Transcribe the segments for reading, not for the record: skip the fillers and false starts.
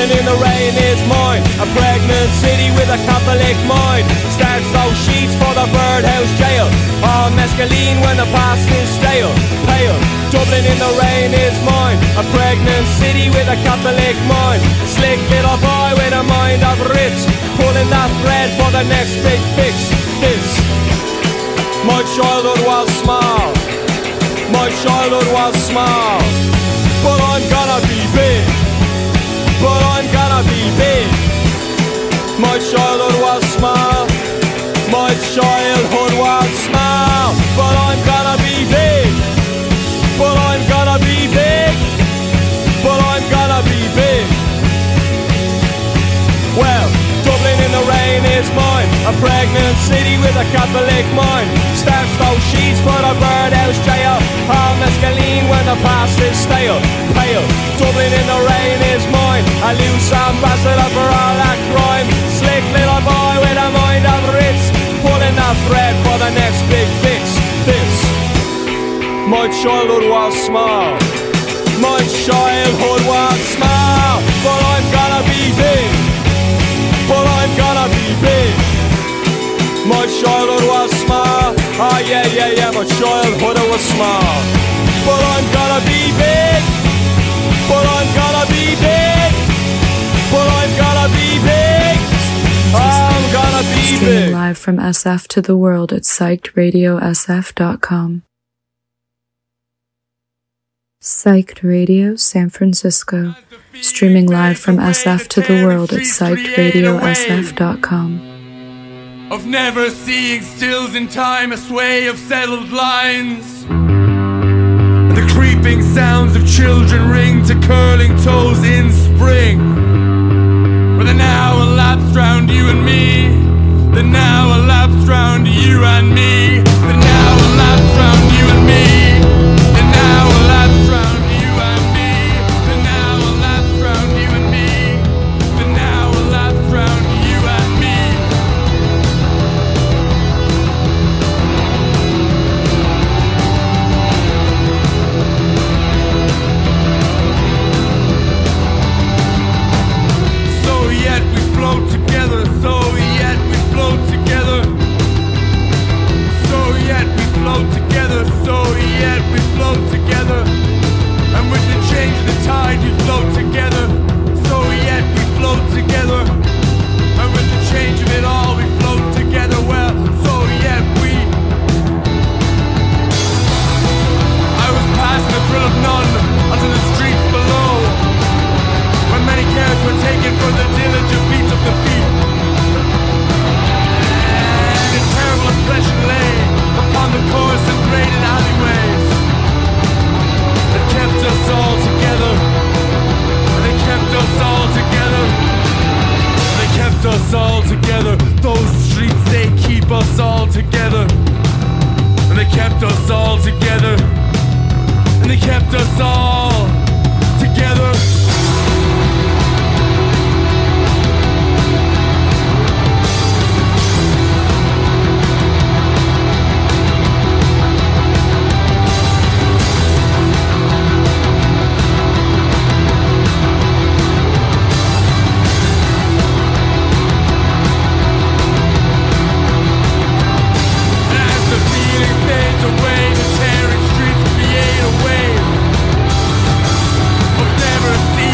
Dublin in the rain is mine, a pregnant city with a Catholic mind. Starts those sheets for the birdhouse jail, all mescaline when the past is stale. Pale, Dublin in the rain is mine, a pregnant city with a Catholic mind. Slick little boy with a mind of Ritz, pulling that thread for the next big fix. This, my childhood was small, my childhood was small, but I'm gonna be big, but I'm gonna be big. My childhood was small, my childhood was small, but I'm gonna be big, but I'm gonna be big, but I'm gonna be big. Well, Dublin in the rain is mine, a pregnant city with a Catholic mind. Starts those sheets for the birdhouse jail, all mescaline when the past is stale. Pale, Dublin in the rain is mine, a loose ambassador for all that crime. Slick little boy with a mind of Ritz, pulling that thread for the next big fix. This, my childhood was small, my childhood was small, but I'm gonna be big, but I'm gonna be big. My childhood was small, oh yeah, my childhood was small, but I'm gonna be big, but I'm gonna be big, but I'm gonna be big, I'm gonna be big. Streaming live from SF to the world at psychedradiosf.com. Psyched Radio San Francisco. Streaming live from SF to the world at psychedradiosf.com. Of never seeing stills in time, a sway of settled lines. The creeping sounds of children ring to curling toes in spring. Where the now elapsed round you and me, the now elapsed round you and me, the now elapsed round you and me, the now elapsed round you and me, the now elapsed round you and me, the now elapsed round you and me. So yet we float together, so yet we float together, so yet we float together, so yet we float together, and with the change of the tide we float together, so yet we float together, and with the change of it all we float together, well, so yet we. I was passing the thrill of none onto the streets below, when many cares were taken for the diligent beats of the feet, and a terrible oppression lay upon the coarse and graded alleyways that kept us all together, and they kept us all together, and they kept us all together. Those streets, they keep us all together, and they kept us all together, and they kept us all together. Away, the tearing streets create a wave of never seen.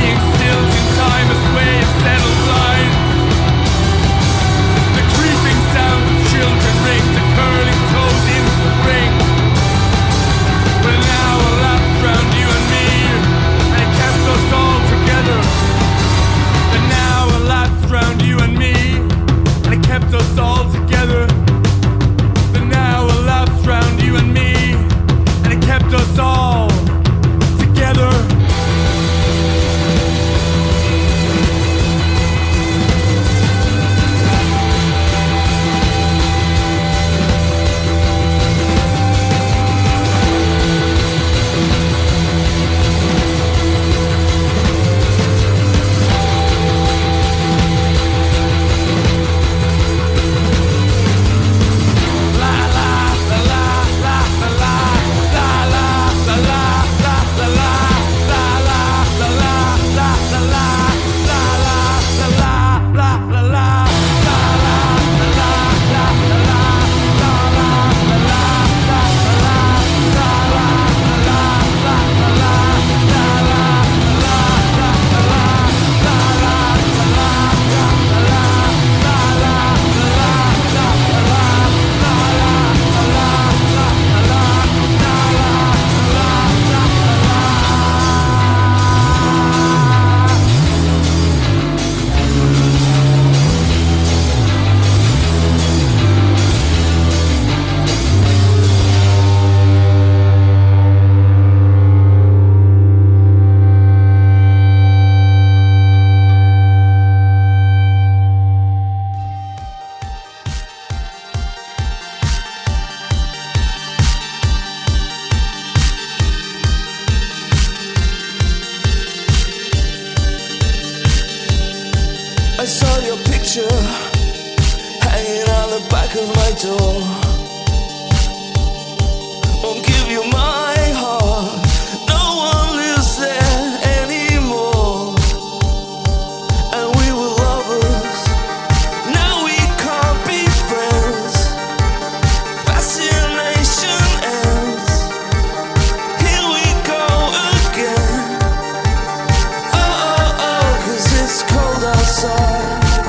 door. Won't give you my heart. No one lives there anymore. And we were lovers. Now we can't be friends. Fascination ends. Here we go again. Oh, oh, oh, 'cause it's cold outside.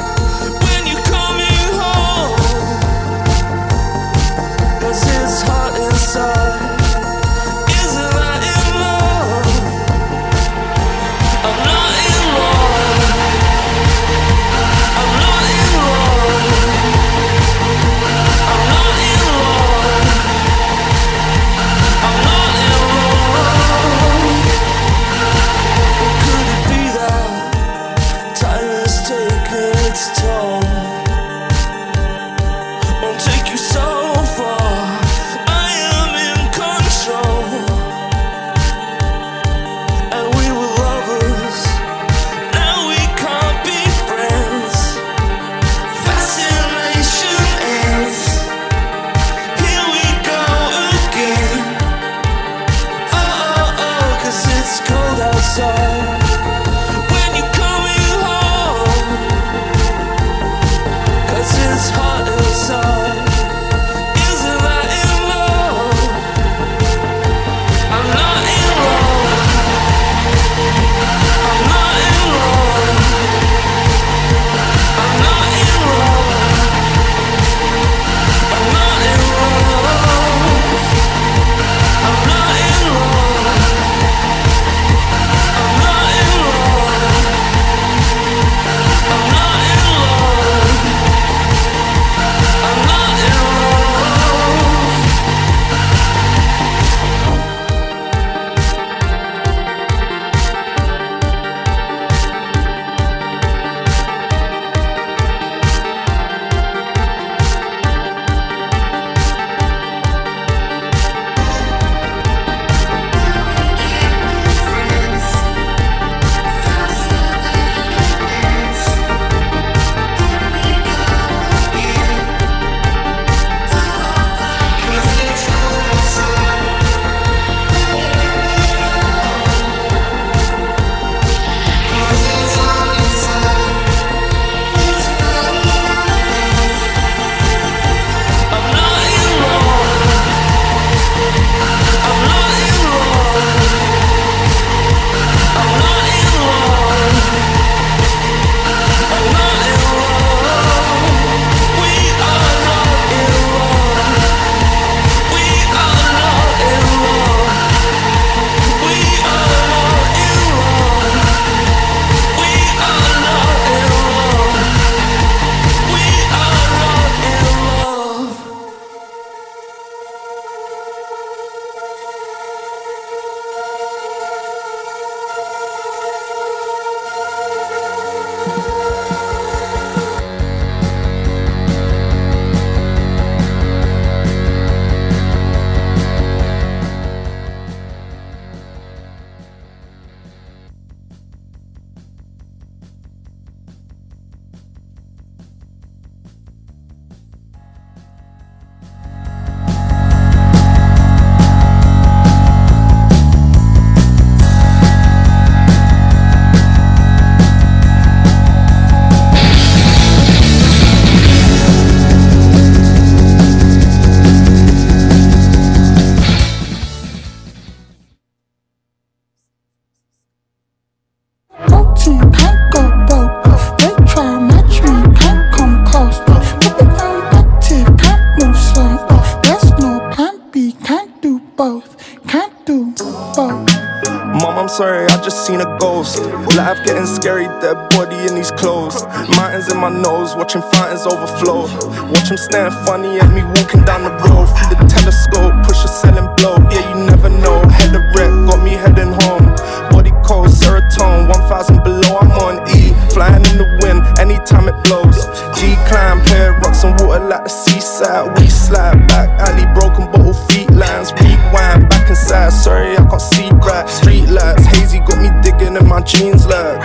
sorry, I just seen a ghost. Life getting scary, dead body in these clothes. Mountains in my nose, watching fountains overflow. Watch them staring funny at me walking down the road. Through the telescope, push a selling blow. Yeah, you never know, head of wreck, got me heading home. Body cold, serotonin, 1000 below, I'm on E. Flying in the wind, anytime it blows. Decline, pair rocks and water like the seaside. We slide back, alley, broken bottle, feet lines. Rewind, back inside, sorry I can't see right. Street lights, hazy got me digging in my jeans like.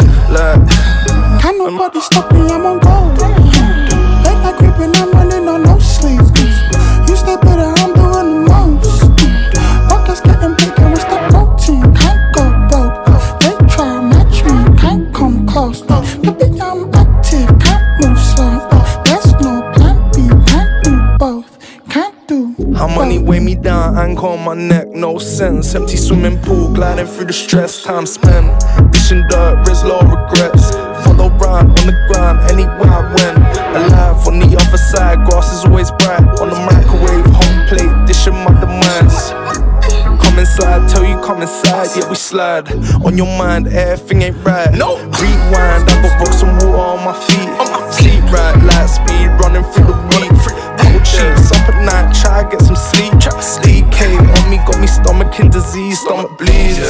Can't nobody stop me, I'm on gold. Late night creeping, I'm running on no sleep. money weigh me down, anchor on my neck, no sense. Empty swimming pool, gliding through the stress, time spent dishing dirt, Rizla regrets. Follow round on the ground, anywhere I went. Alive on the other side, grass is always bright. On the microwave, home plate, dishing my demands. Come inside, tell you come inside, yeah we slide. On your mind, everything ain't right. No. Rewind, I got rocks and water on my feet. Sleep right, light speed, running through the week. Cold sheets, up at night, try to get some sleep. DK on me, got me stomach in disease, stomach bleeds.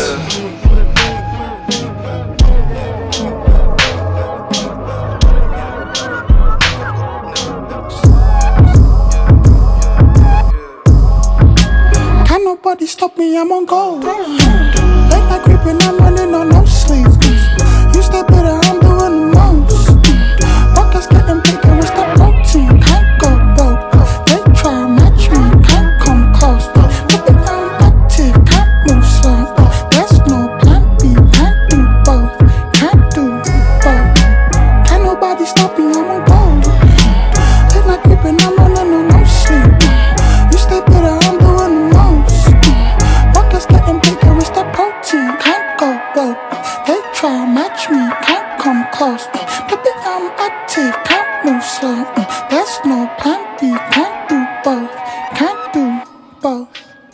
Can't nobody stop me, I'm on gold. Late night creeping, I'm running on no sleep. You stay better, I'm doing the most. Pockets getting bigger, it's that protein. Can't go broke. They try to match me, can't come close. Baby, I'm active, can't move slow. There's no plan B, can't do both. Can't do both. Can't nobody stop me, I'm on gold. Late night creeping, I'm running on no sleep. You stay better, I'm doing the most. Pockets getting bigger, it's that protein. Can't go broke. They try to match me, can't come close. Baby, I'm active, can't move slow. There's no plan B, can't do both. Can't do both.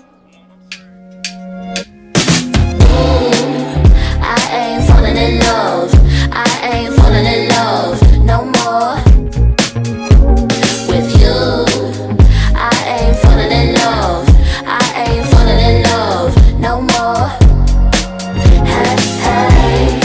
I ain't falling in love. I ain't falling in love no more with you. I ain't falling in love. I ain't falling in love no more. Hey, hey.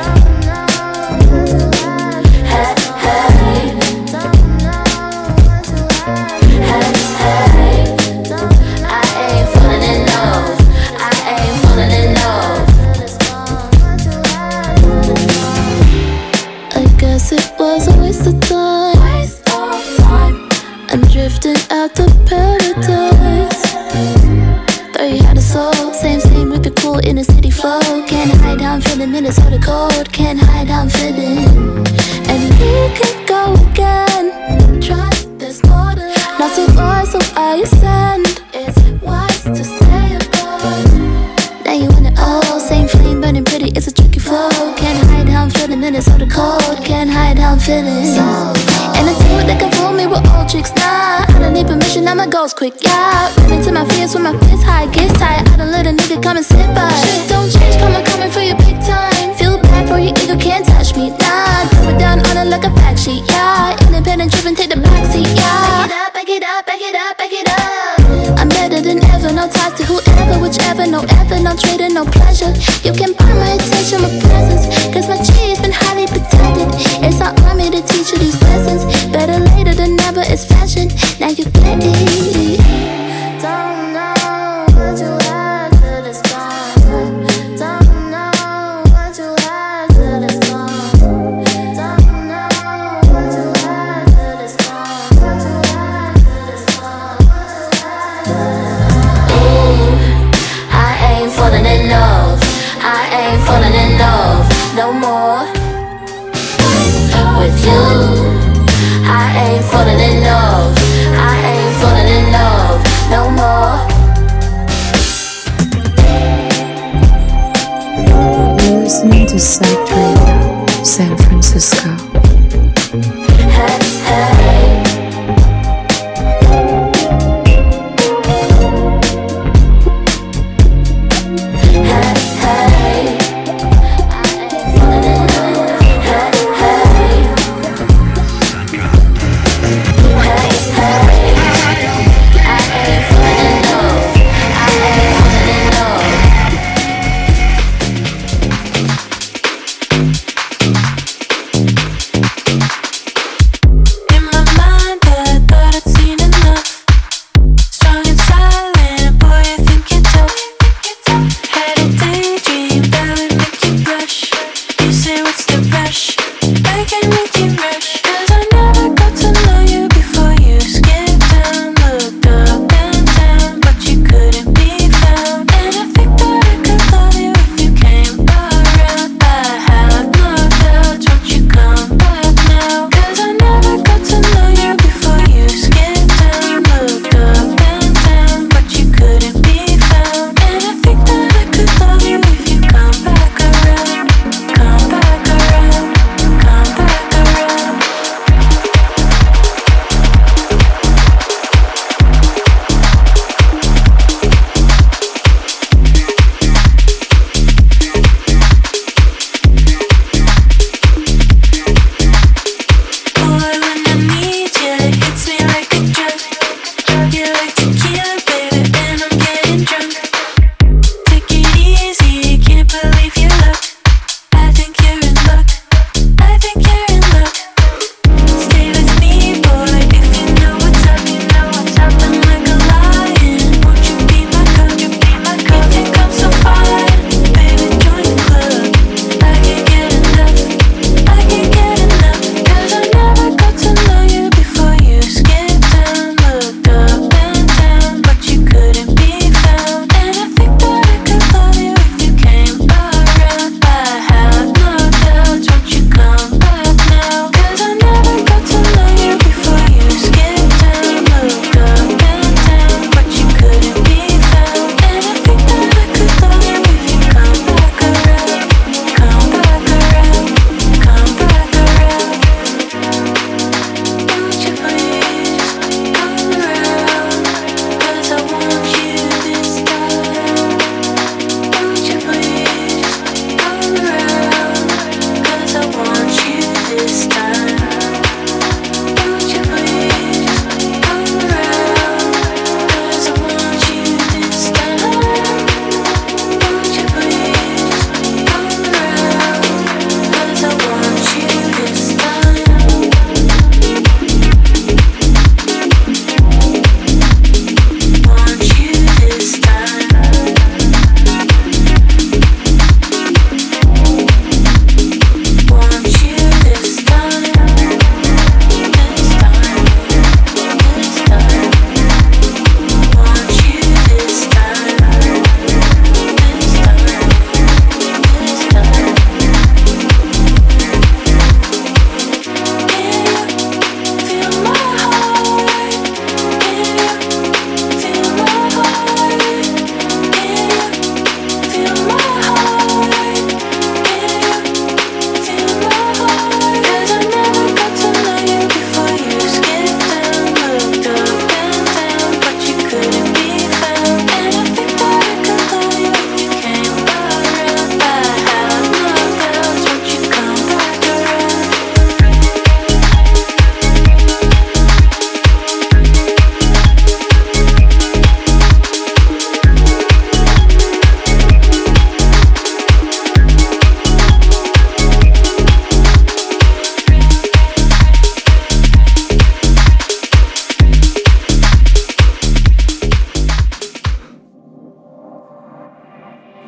It was a waste of time. I'm drifting out to paradise. Thought you had a soul, same with the cool inner city flow. Can't hide how I'm feeling, Minnesota cold. Can't hide how I'm feeling. And we could go again. Trust, there's more to life. Not so far, so I ascend. It's wise to stay apart. Now you want it all, same flame burning pretty, it's a tricky flow. Can't hide how I'm feeling, Minnesota cold. Can't hide how I'm feeling. And I tell it they can fool me with old tricks. Nah, I don't need permission, I'm a ghost quick, yeah. Run into my fears when my fist high, gets tired. I don't let a nigga come and sit by. Shit don't change, coming for your big time. Feel bad for your ego, can't touch me, nah. Throw it down on it like a fact sheet, yeah. Independent driven, take the backseat, yeah. Back it up, back it up, back it up, back it up. I'm better than ever, no ties to whoever, whichever. No effort, no trading, no pleasure. You can buy my attention with presence, cause my G's been highly protected. It's not on me to teach you these lessons. Better later than never, it's fashion. Now you get it. Don't know what you had till it's gone. Don't know what you had till it's gone. Don't know what you had till it's gone. What you had till it's gone. Ooh, I ain't falling in love. I ain't falling in love no more with you. I ain't falling in love. I ain't falling in love no more. You're listening to Psych Radio, San Francisco. Hey, hey.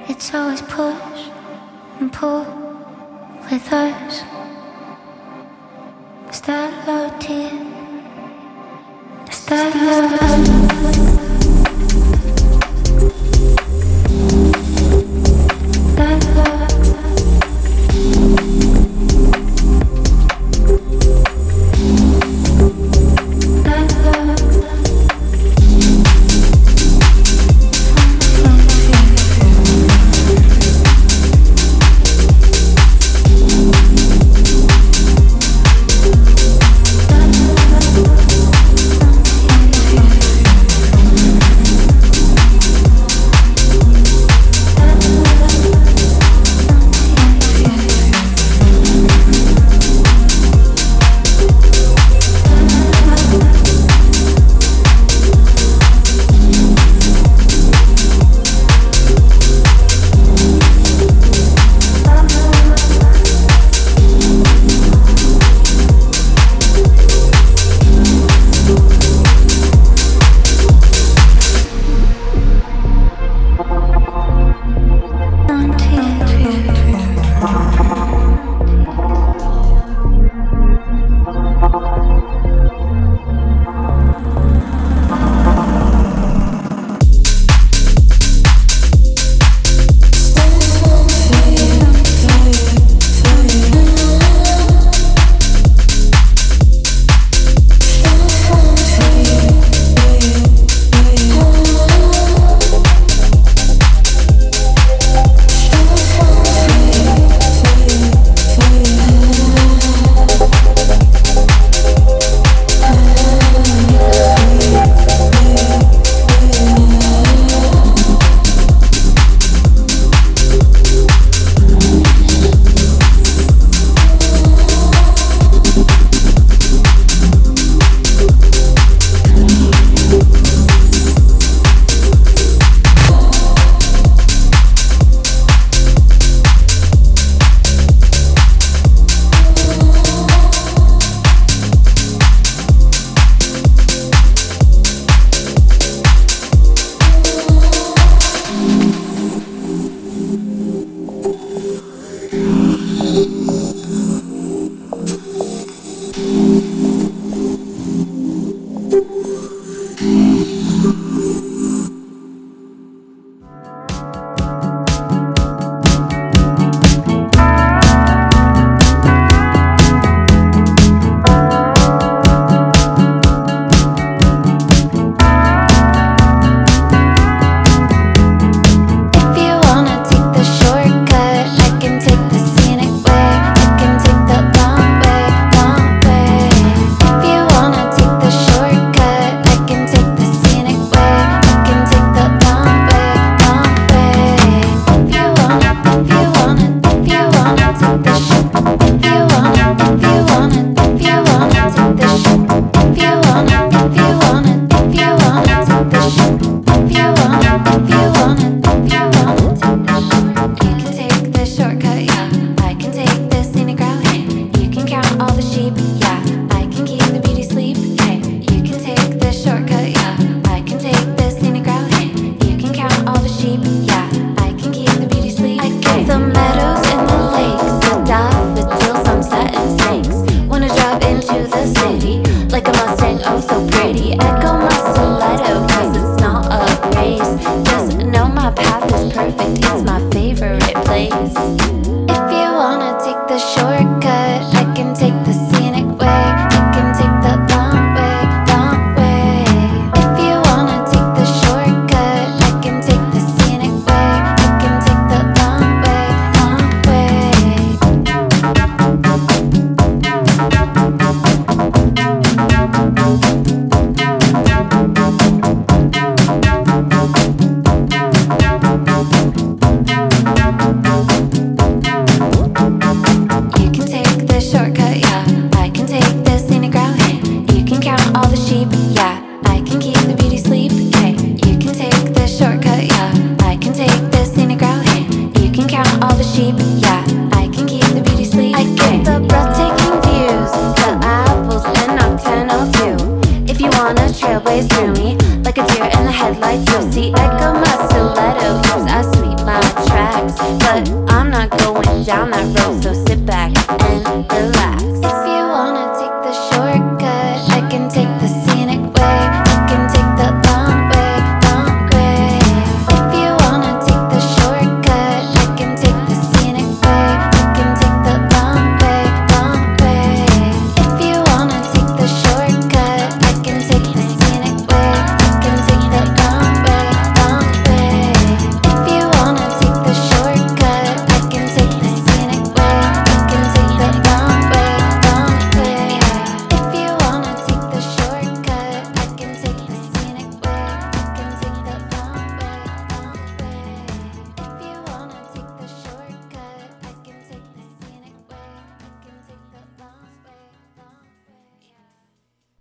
It's always push and pull with us. Is that love, dear? Is that love?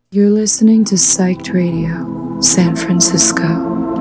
You're listening to Psyched Radio, San Francisco.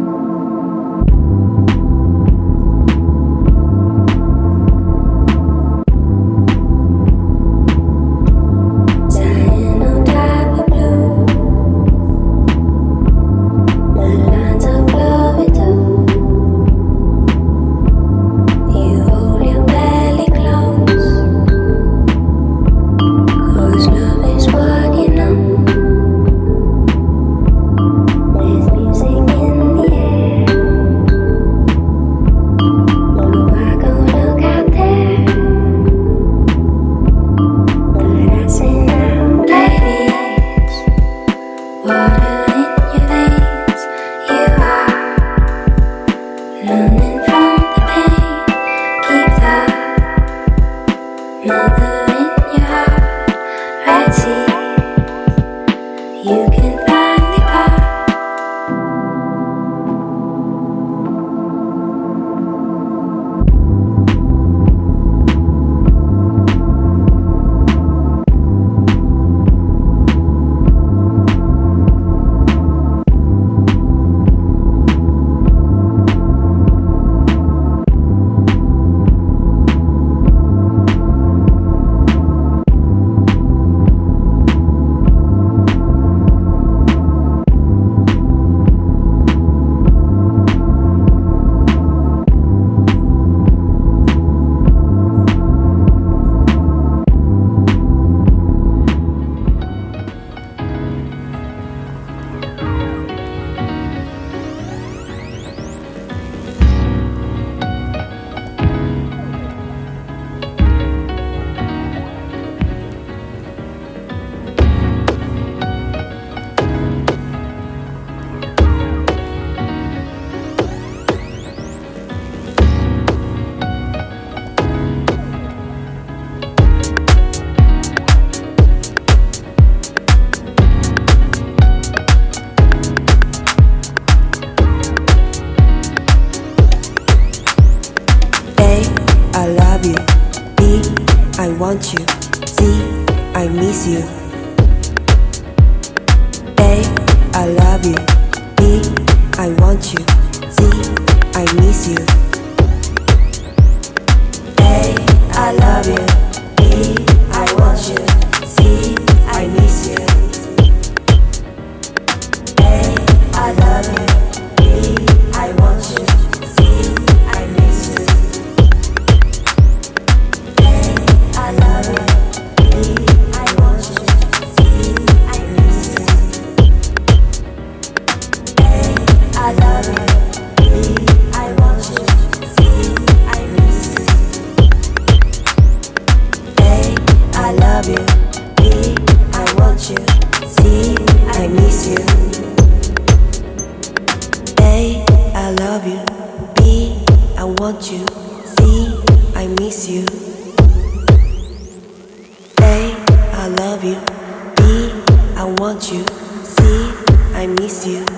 Want you, see, I miss you. A, I love you. B, I want you. C, I miss you. A, I love you. B, I want you. C, I miss you. A, I love you. B, I want you. C, I miss you. I love you, B, I want you, C, I miss you. A, I love you, B, I want you, C, I miss you. A, I love you, B, I want you, C, I miss you. A, I love you, B, I want you, C, I miss you. I love you, B, I want you, C, I miss you.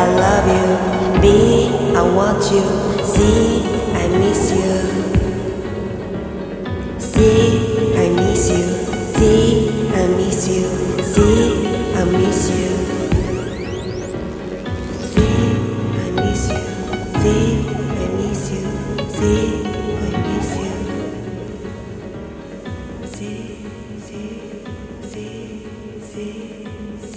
I love you. B, I want you. C, I miss you. C, I miss you. C, I miss you. C, I miss you. C, I miss you. C, I miss you. C, I miss you. C, C, C, C, C.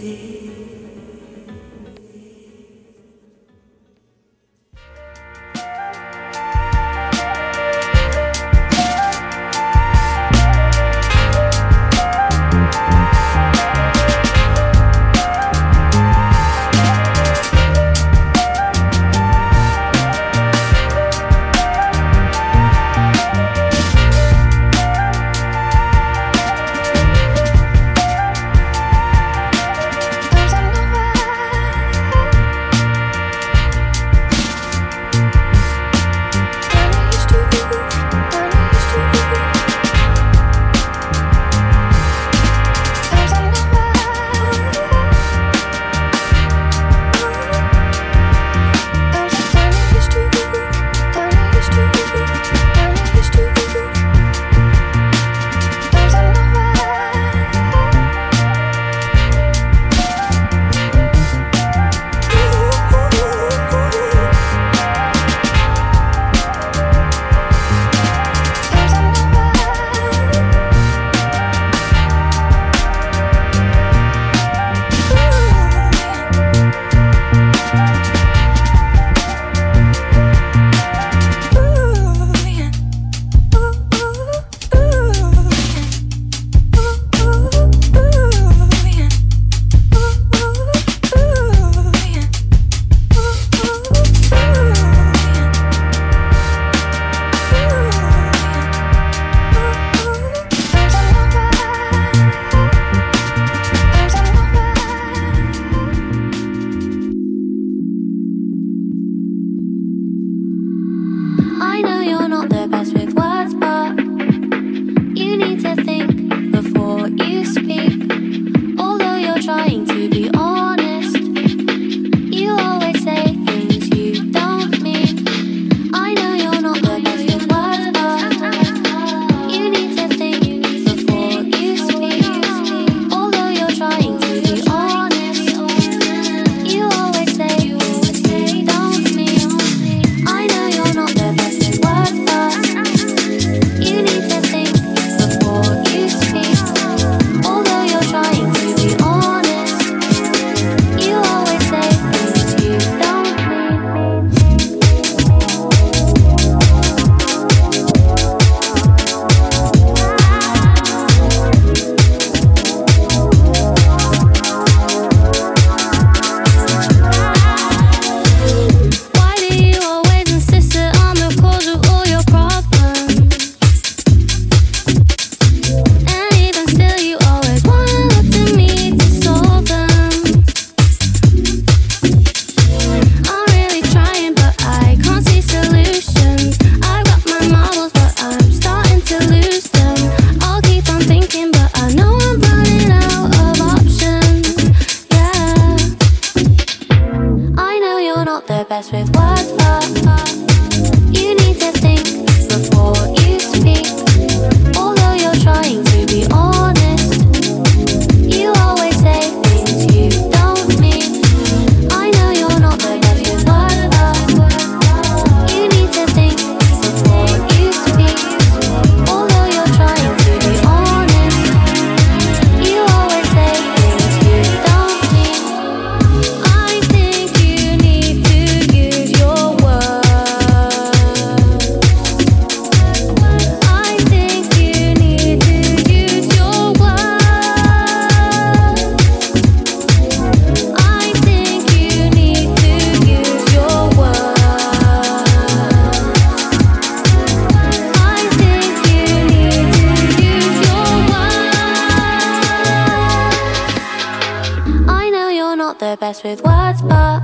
best with words, but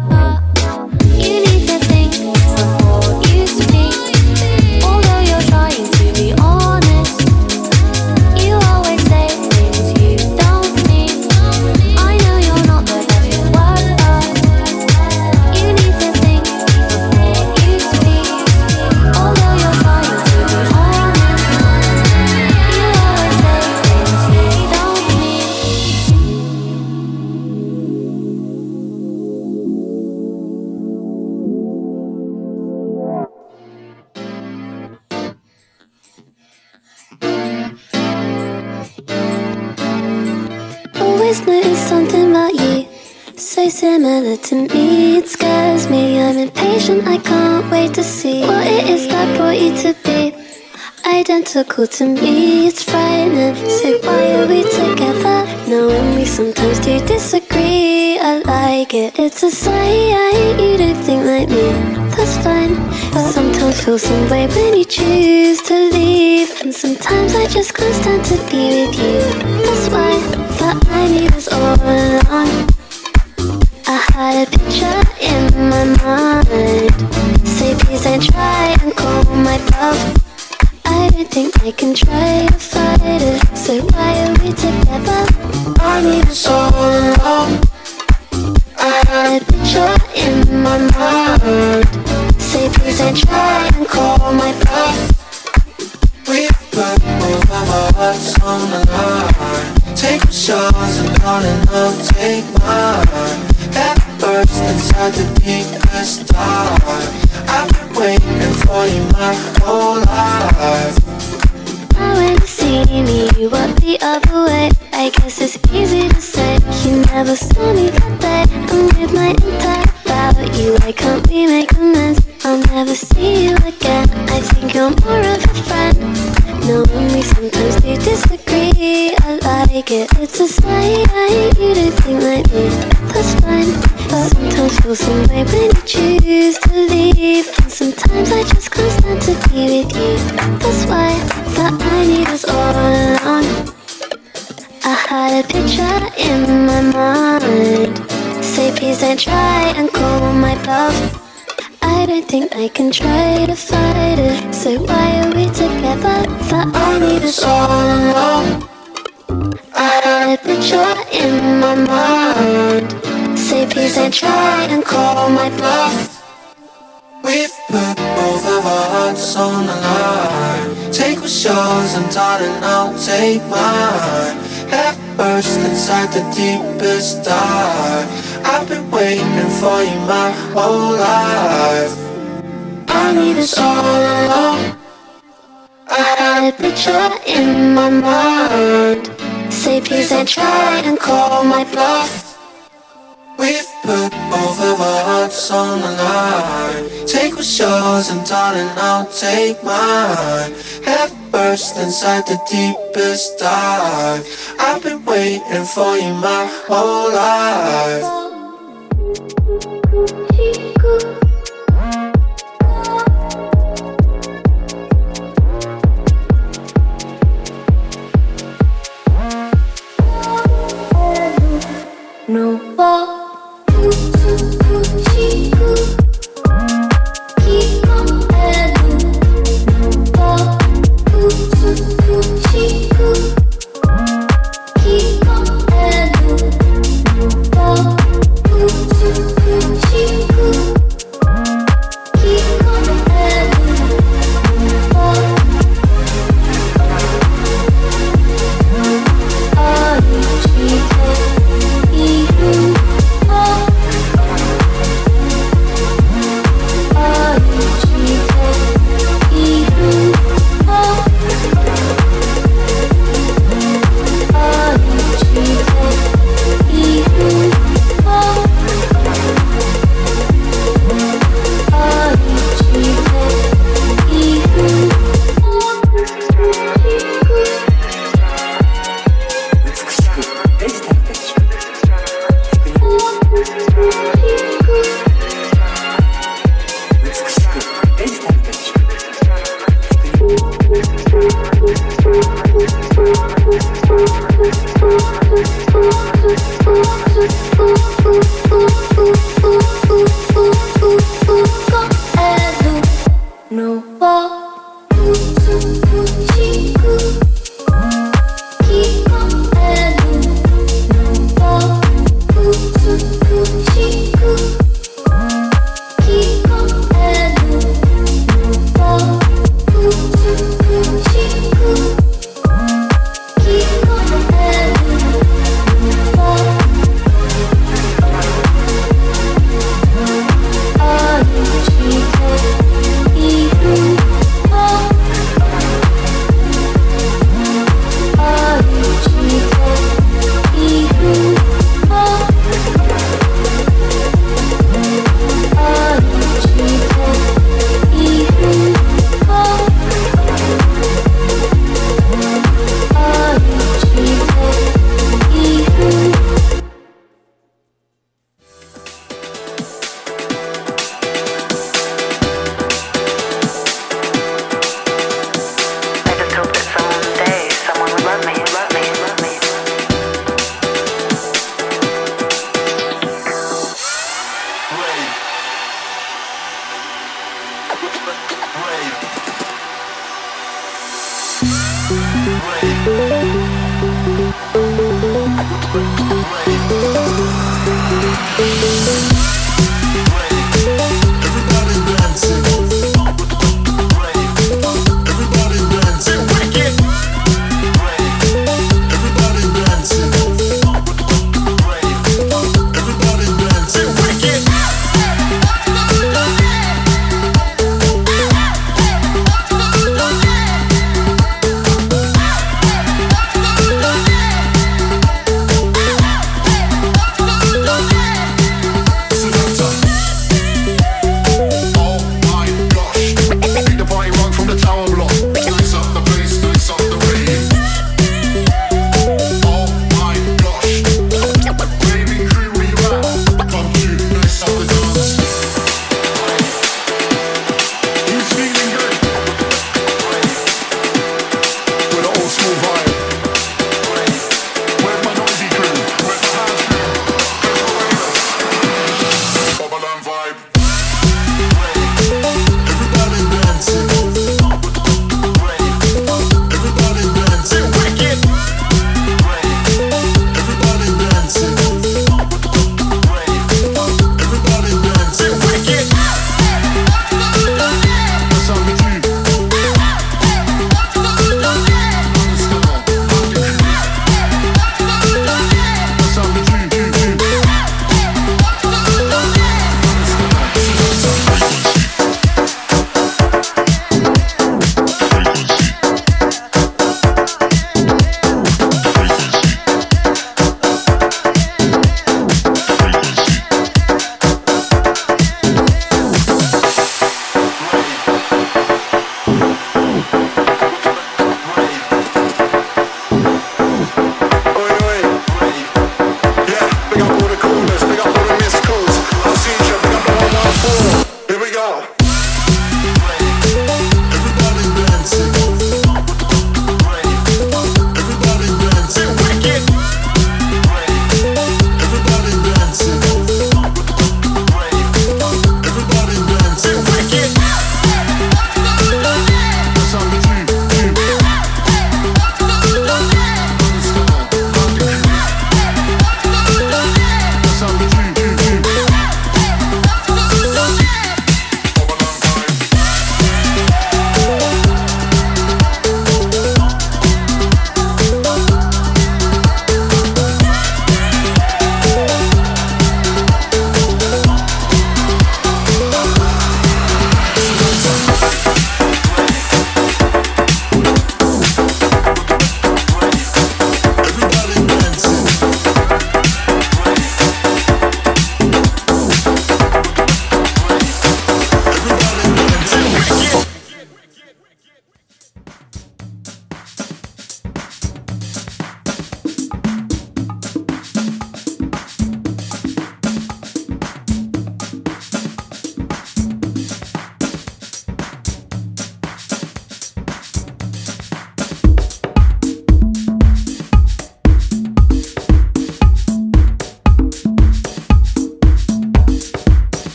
you need to think before you speak. Although you're trying to be honest, you always say things you don't mean. I know you're not the best with words, but always noticed something about you, so similar to me. It scares me, I'm impatient, I can't wait to see what it is that brought you to be identical to me. It's frightening, so why are we together? Knowing we sometimes do disagree, I like it. It's a sign, you don't think like me, that's fine. But sometimes feel some way when you choose to leave, and sometimes I just can't stand to be with you. That's why that I need us all along. I had a picture in my mind, say please don't try and call my bluff. I don't think I can try to fight it, so why are we together? I need us all alone. I had a picture in my mind, say please don't try and call my bluff. We put both of our hearts on the line. Take my shots and darling, I'll take mine. Head first inside the deepest dive. I've been waiting for you my whole life. I went to see me, you walked the other way. I guess it's easy to say, you never saw me that day. I'm with my entire about you, why can't we make amends? I'll never see you again, I think you're more of a friend. Knowing we sometimes do disagree, I like it. It's a sign, you don't think like me, that's fine. But sometimes feel some way when you choose to leave, and sometimes I just can't stand to be with you. That's why that I need us all along. I had a picture in my mind, say please don't try and call my bluff. I don't think I can try to fight it, so why are we together? That I need us all alone. I had a picture in my mind, say please don't try and call my bluff. We've put both of our hearts on the line. Take what's yours and darling, I'll take mine. Head first inside the deepest dive. I've been waiting for you my whole life. I need us all alone. I had a picture in my mind, say please don't try and call my bluff. We've put both of our hearts on the line. Take what's yours and darling, I'll take mine. Head first inside the deepest dive. I've been waiting for you my whole life. No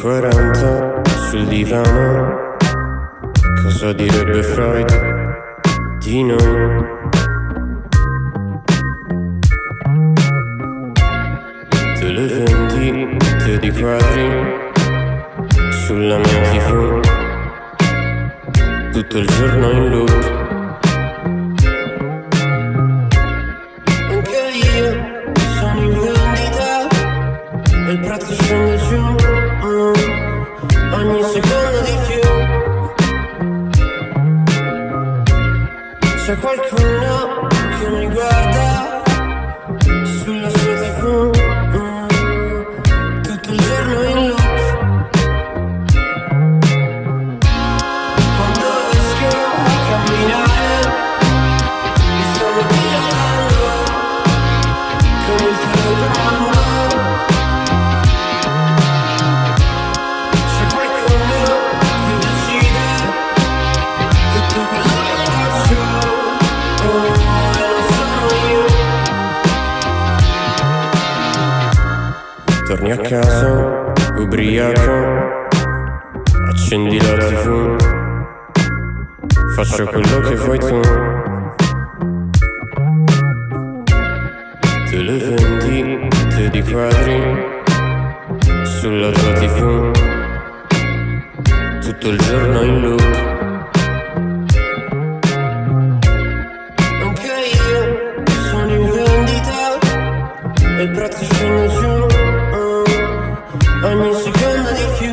40 sul divano, cosa direbbe Freud di noi? Te le vendite di quadri sulla mia TV, tutto il giorno in loop. Anche io sono in vendita e il prezzo scende giù, ogni secondo di più. C'è qualcuno che mi guarda sulla sua TV, tutto il giorno in loop. Quando esco a camminare mi stanno pilotando con il telecomando. C'è qualcuno che decide tutto quello che faccio, e non sono io. Torni a casa, ubriaco, accendi la TV, faccio quello che vuoi tu. Te le vendite di quadri sulla tua TV, tutto il giorno in loop. Anche io sono in vendita e il prezzo scende giù, ogni secondo di più.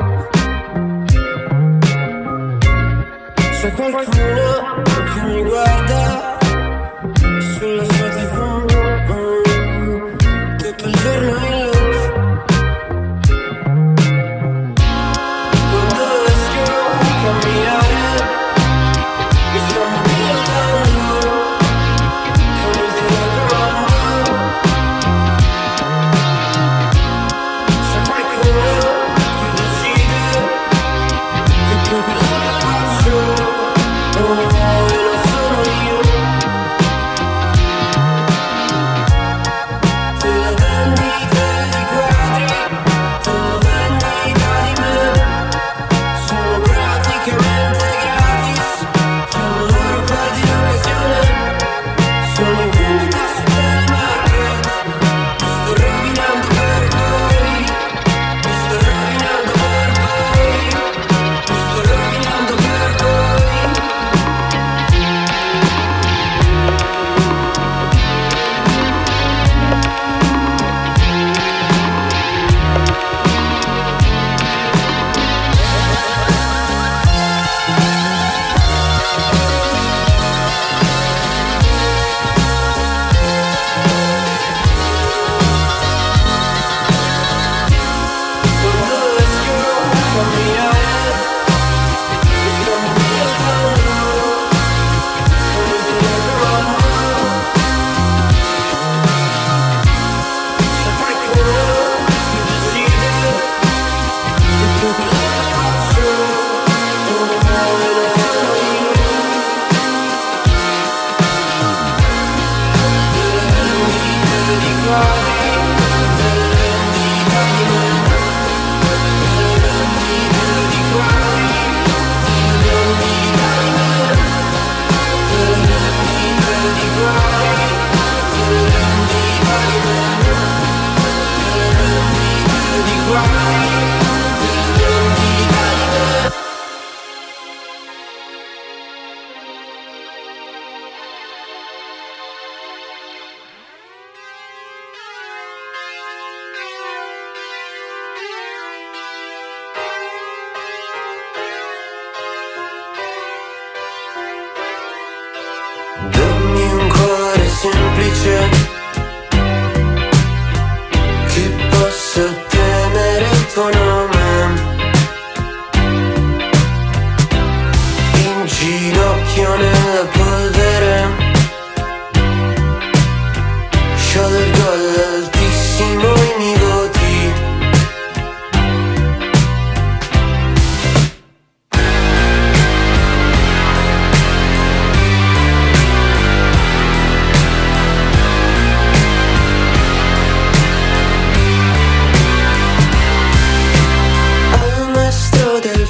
C'è qualcuno che mi guarda sulla sua TV, tutto il giorno in loop. Quando esco a camminare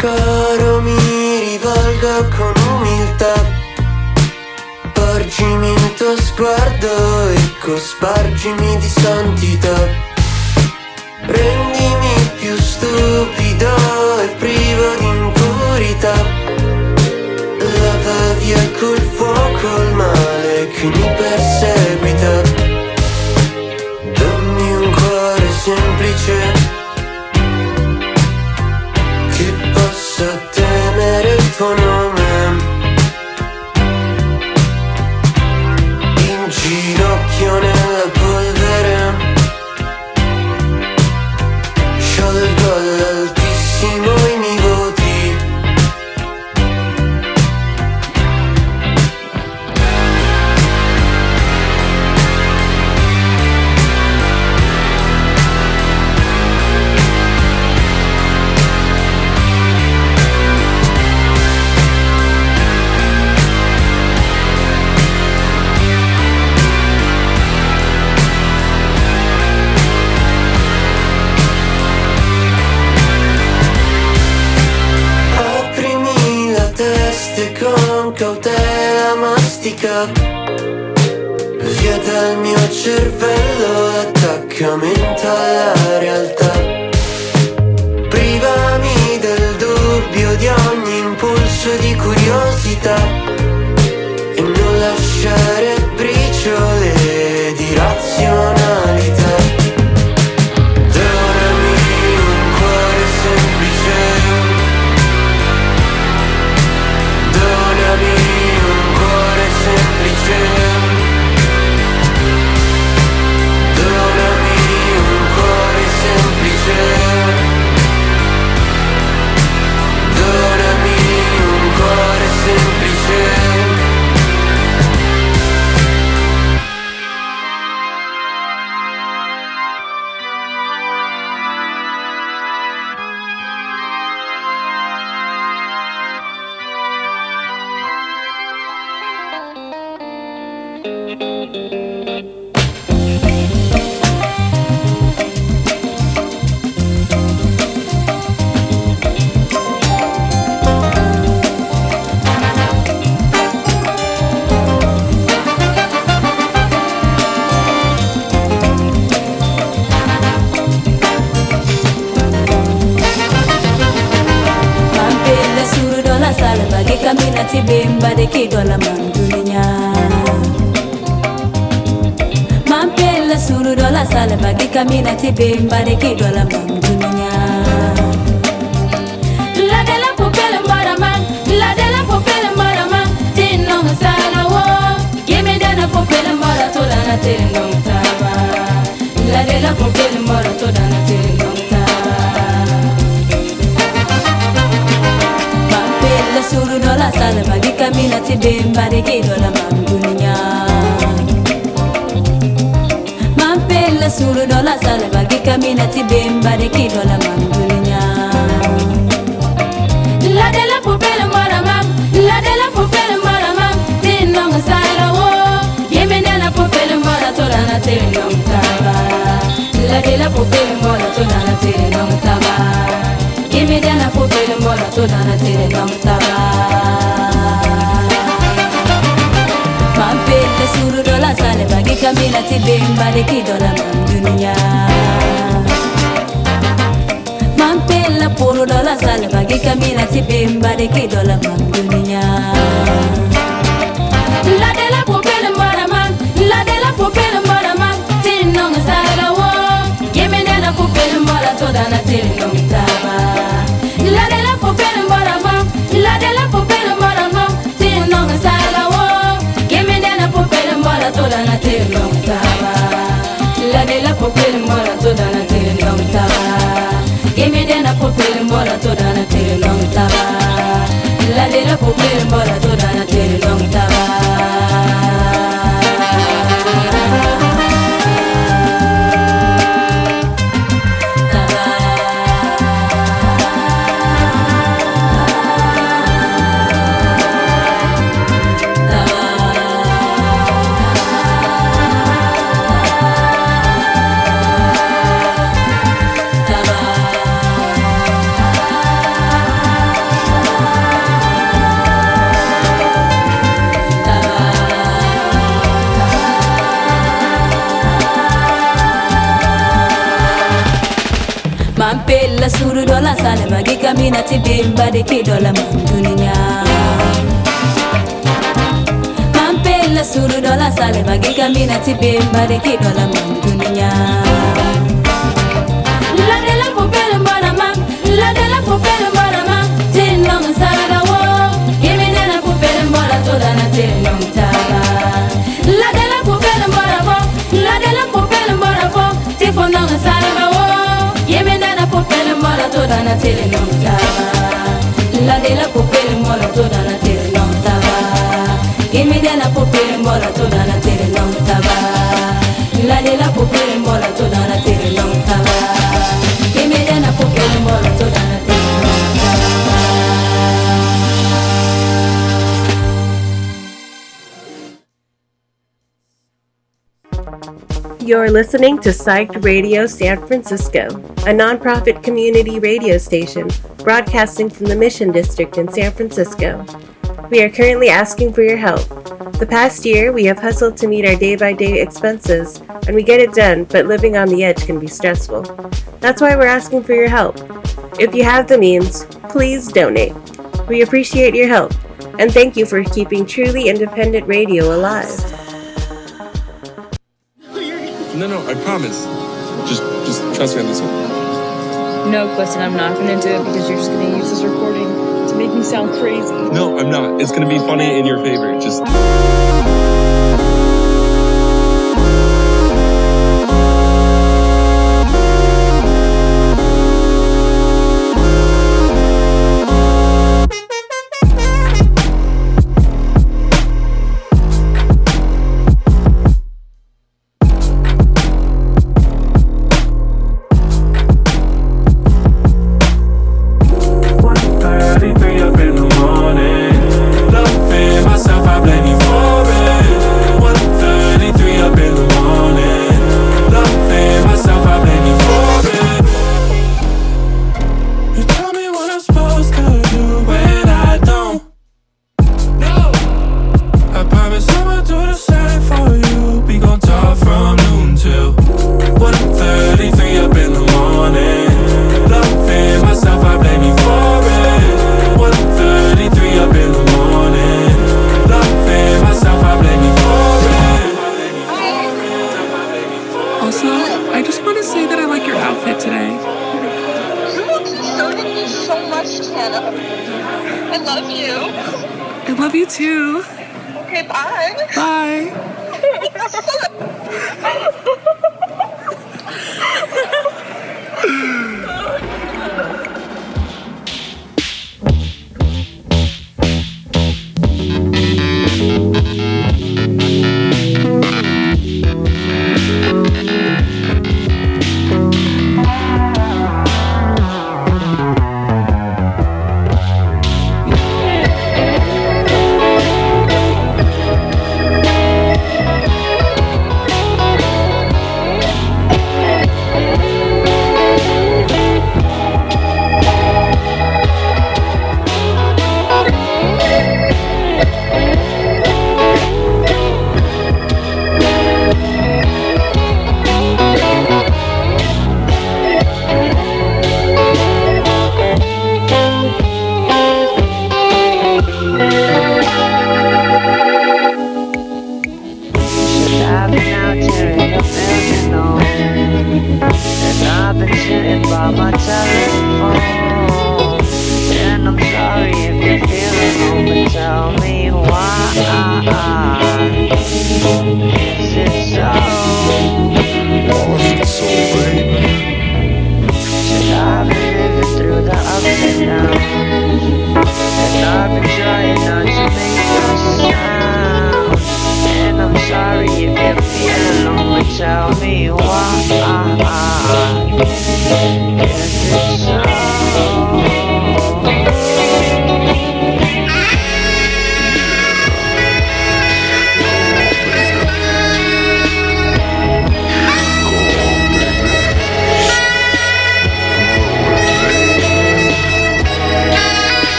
caro mi rivolgo con umiltà. Porgimi il tuo sguardo e cospargimi di santità. Rendimi più stupido e privo di impurità. Lava via col fuoco il male che mi perseguita. Dammi un cuore semplice che possa temere il tuo nome. In ginocchio nella polvere sciolgo all'altissimo i miei voti. Con cautela mastica via dal mio cervello l'attaccamento alla realtà. Privami del dubbio di ogni impulso di curiosità e non lasciare briciole di razionalità. Donami un cuore semplice. Donami un cuore semplice. Donami un cuore semplice. Donami un cuore semplice. Kamina tibemba de kidola mandunya Mampela suru dola salva di kamina tibemba de kidola mandunya La de la popela maraman, la de la popela maraman, tinno sala wo, yeme dana popela maratola na tinno taba. La de la popela maratola na tinno suru dola salva di kamina tibemba de kidola mandunya Mampela suru dola salva di kamina tibemba de kidola mandunya La de la popela maramam, la de la popela maramam, tinno sala wo, yeme dana popela maratola na tinno taba. La de la popela maratola na tinno taba. Gimme dana popela maratola na tinno taba. Mampela suru dola salva di kamina tibemba de kidola mandunya Mampela puro dola salva di kamina tibemba de kidola mandunya La de la popela maraman, la de la popela maraman, tinno sala wo, yeme dana popela maratola na tinno taba. La de la popela maraman, la de la popela maraman, tinno sala wo, yeme dana popela maratola na tinno taba. La de la popela maratola na tinno taba. Gimme dana popela maratola na tinno taba. La de la popela maratola na tinno taba. sale bagi kami na tibimba de kidola mandunia Mampela suru dola sale bagi kami na tibimba de kidola mandunia La de la popele mbona mam La de la popele mbona mam Tin long sala da wo Yemi de la popele mbona toda na tin long taba La de la popele mbona fo La de la popele mbona fo Tifo long sala da wo Yemi de la popele mbona toda na tin long taba La de la popele mbona toda na tin long taba Yemi de la popele mbona toda na tin long taba La de la popele mbona toda na tin long taba Yemi de la popele mbona toda na tin long taba You're listening to Psyched Radio San Francisco, a nonprofit community radio station broadcasting from the Mission District in San Francisco. We are currently asking for your help. The past year, we have hustled to meet our day-by-day expenses, and we get it done, but living on the edge can be stressful. That's why we're asking for your help. If you have the means, please donate. We appreciate your help, and thank you for keeping truly independent radio alive. No, I promise. Just trust me on this one. No, Clifton, I'm not gonna do it because you're just gonna use this recording to make me sound crazy. No, I'm not. It's gonna be funny in your favor. Just...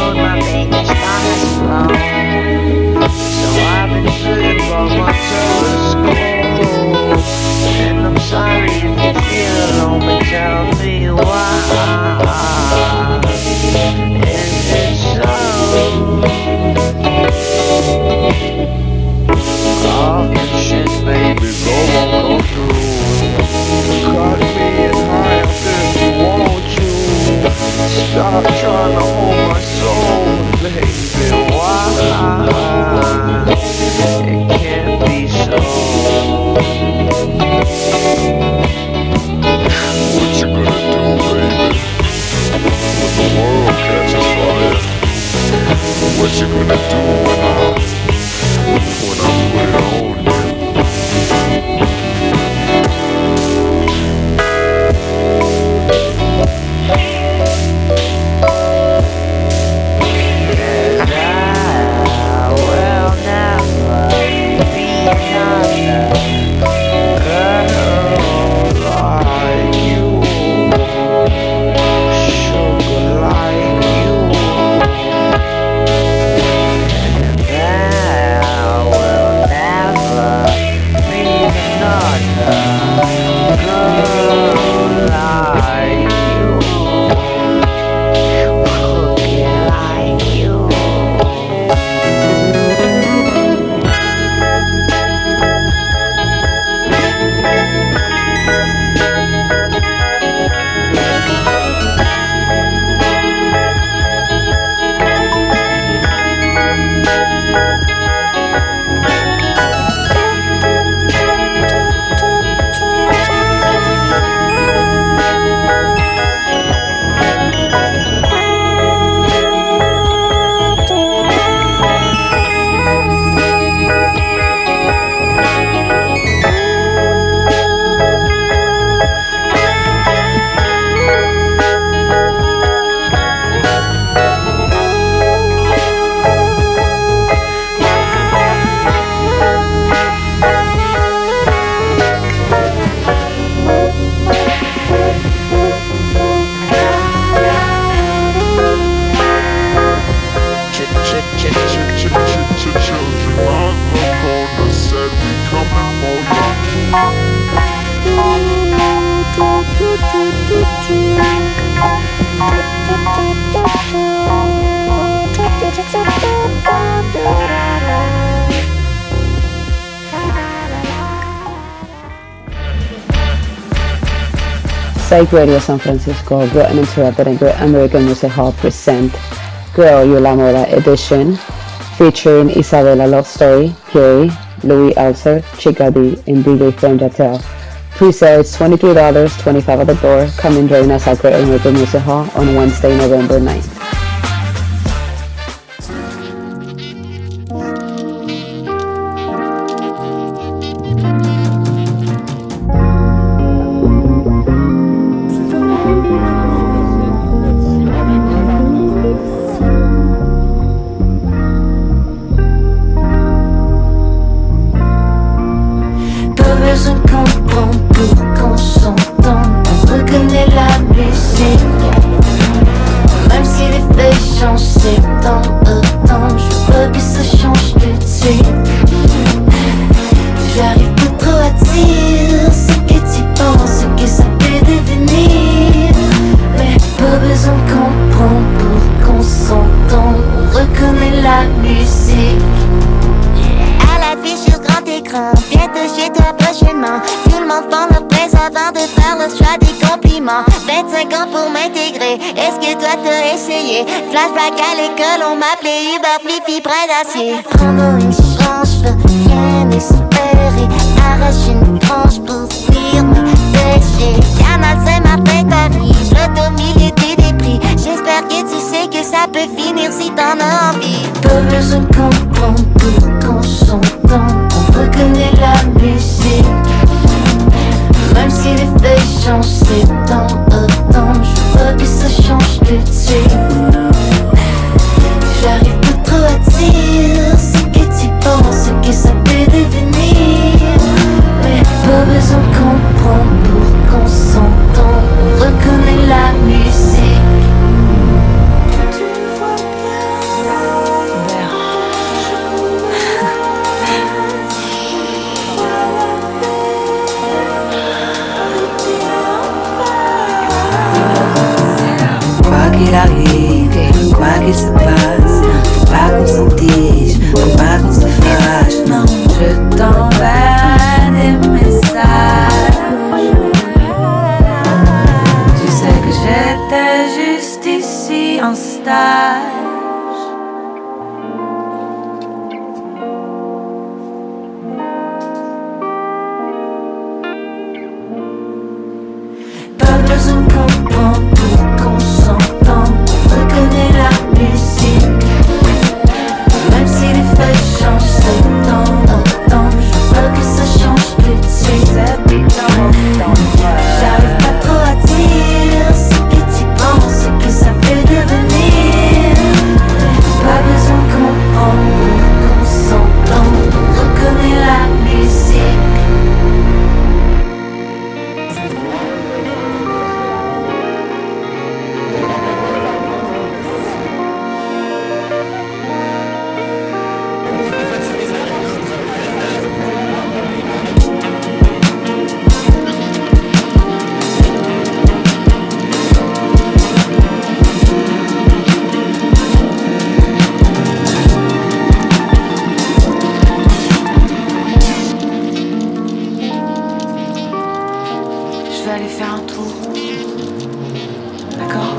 road, my baby's kinda slow. So I've been sitting by my telescope. And I'm sorry if you feel alone, but tell me why. Is it so? All this shit, baby, go on, go through. Cut me in half if you want to. Stop trying to hold my soul, baby, why? It can't be so. What you gonna do, baby, when the world catches fire? What you gonna do when I put it on you? Psych Radio San Francisco, Great Uninterrupted and Great American Music Hall present Girl You La Moda edition, featuring Isabella Love Story, Gary, Louis Alcer, Chica D, and DJ Fern Jatel. Pre-sale is $23, $25 at the door. Come and join us at Great American Music Hall on Wednesday, November 9th. Flashback à l'école, on m'appelait Uber Flippy près d'acier. Prendre une chance, je veux rien espérer. Arrache une tranche pour fuir mes péchés. Canal, c'est ma fête arrive, l'auto milieu des débris. J'espère que tu sais que ça peut finir si t'en as envie. Pas besoin de comprendre pour qu'on s'entend. On reconnaît la musique. Même si les feuilles changent, c'est dans autant. Je veux que ça change tout de suite. J'arrive pas trop à dire ce que tu penses, ce que ça peut devenir. Mais pas besoin de comprendre pour qu'on s'entende. On reconnaît la musique. Tu vois bien qu'il se passe. Faut pas qu'on s'en-tige, faut pas qu'on se fâche. Non, je t'enverrai des messages. Tu sais que j'étais juste ici en stage. Pas besoin qu'on comprend pour qu'on s'entende. On reconnaît la musique. Même si les feuilles changent, c'est temps en temps. Je veux pas que ça change tout de suite. C'est temps en temps. J'arrive pas trop à dire ce que tu penses, ce que ça peut devenir. Pas besoin de comprendre pour qu'on s'entende. On reconnaît la musique. Je vais aller faire un tour. D'accord?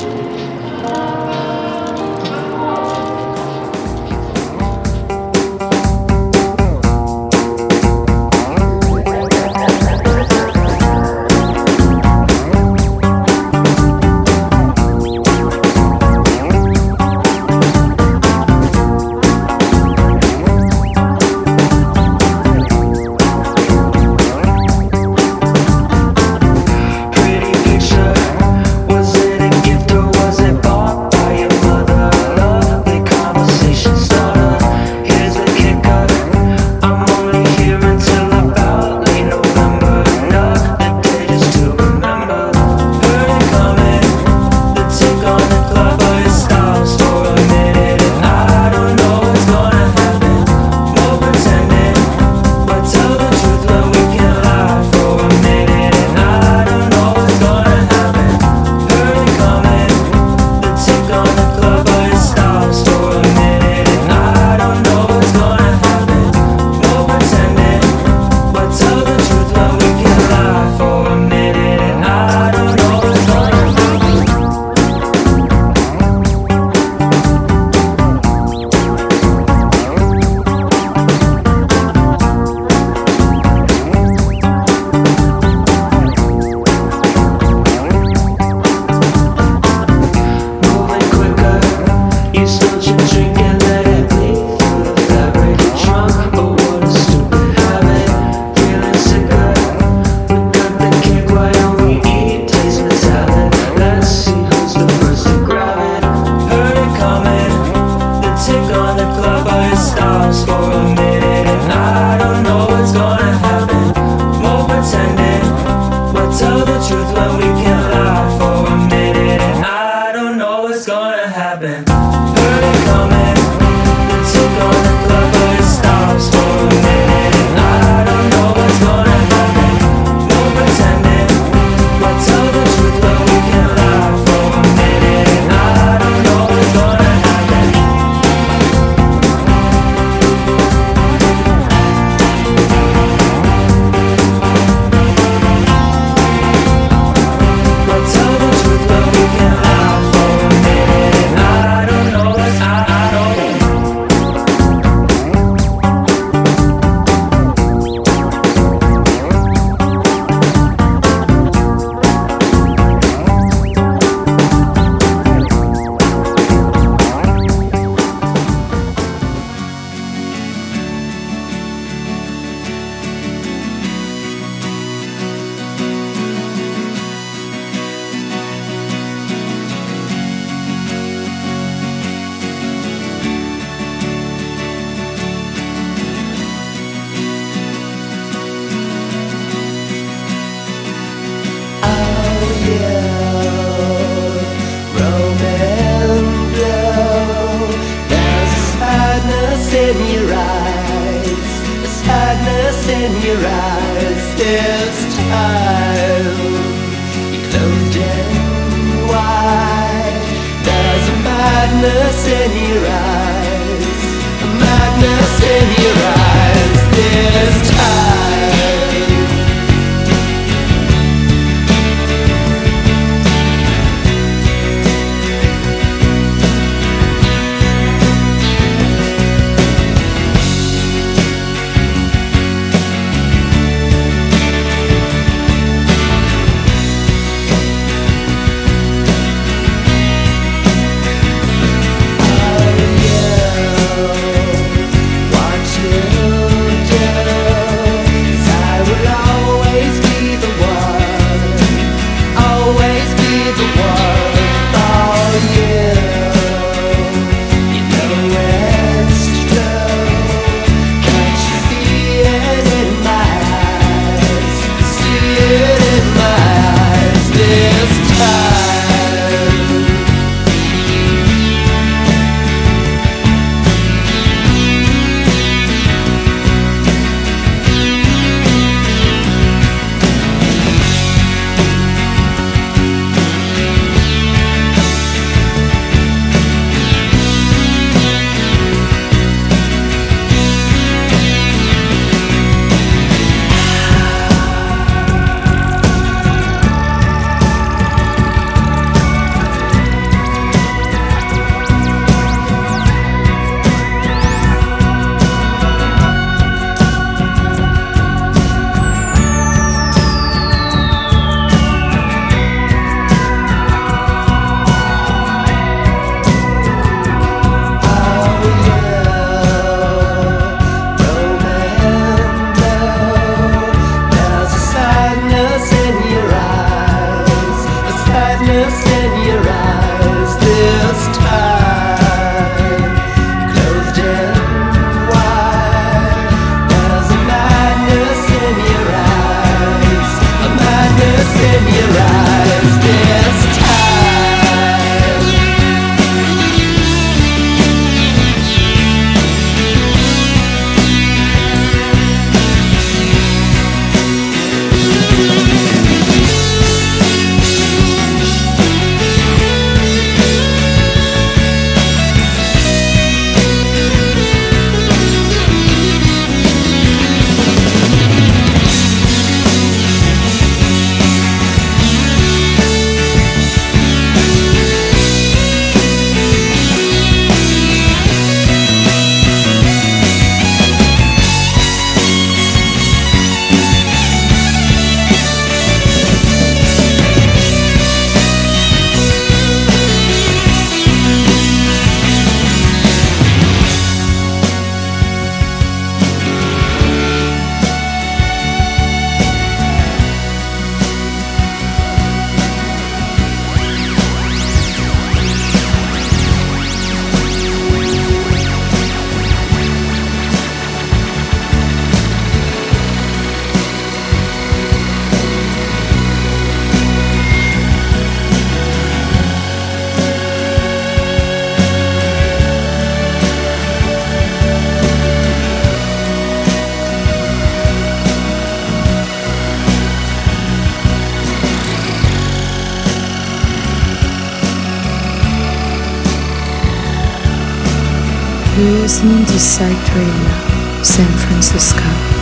in your eyes, a sadness in your eyes this time. You closed in wide. There's a madness madness in your eyes, a madness in your eyes this time. You're listening to Psyched Radio, San Francisco.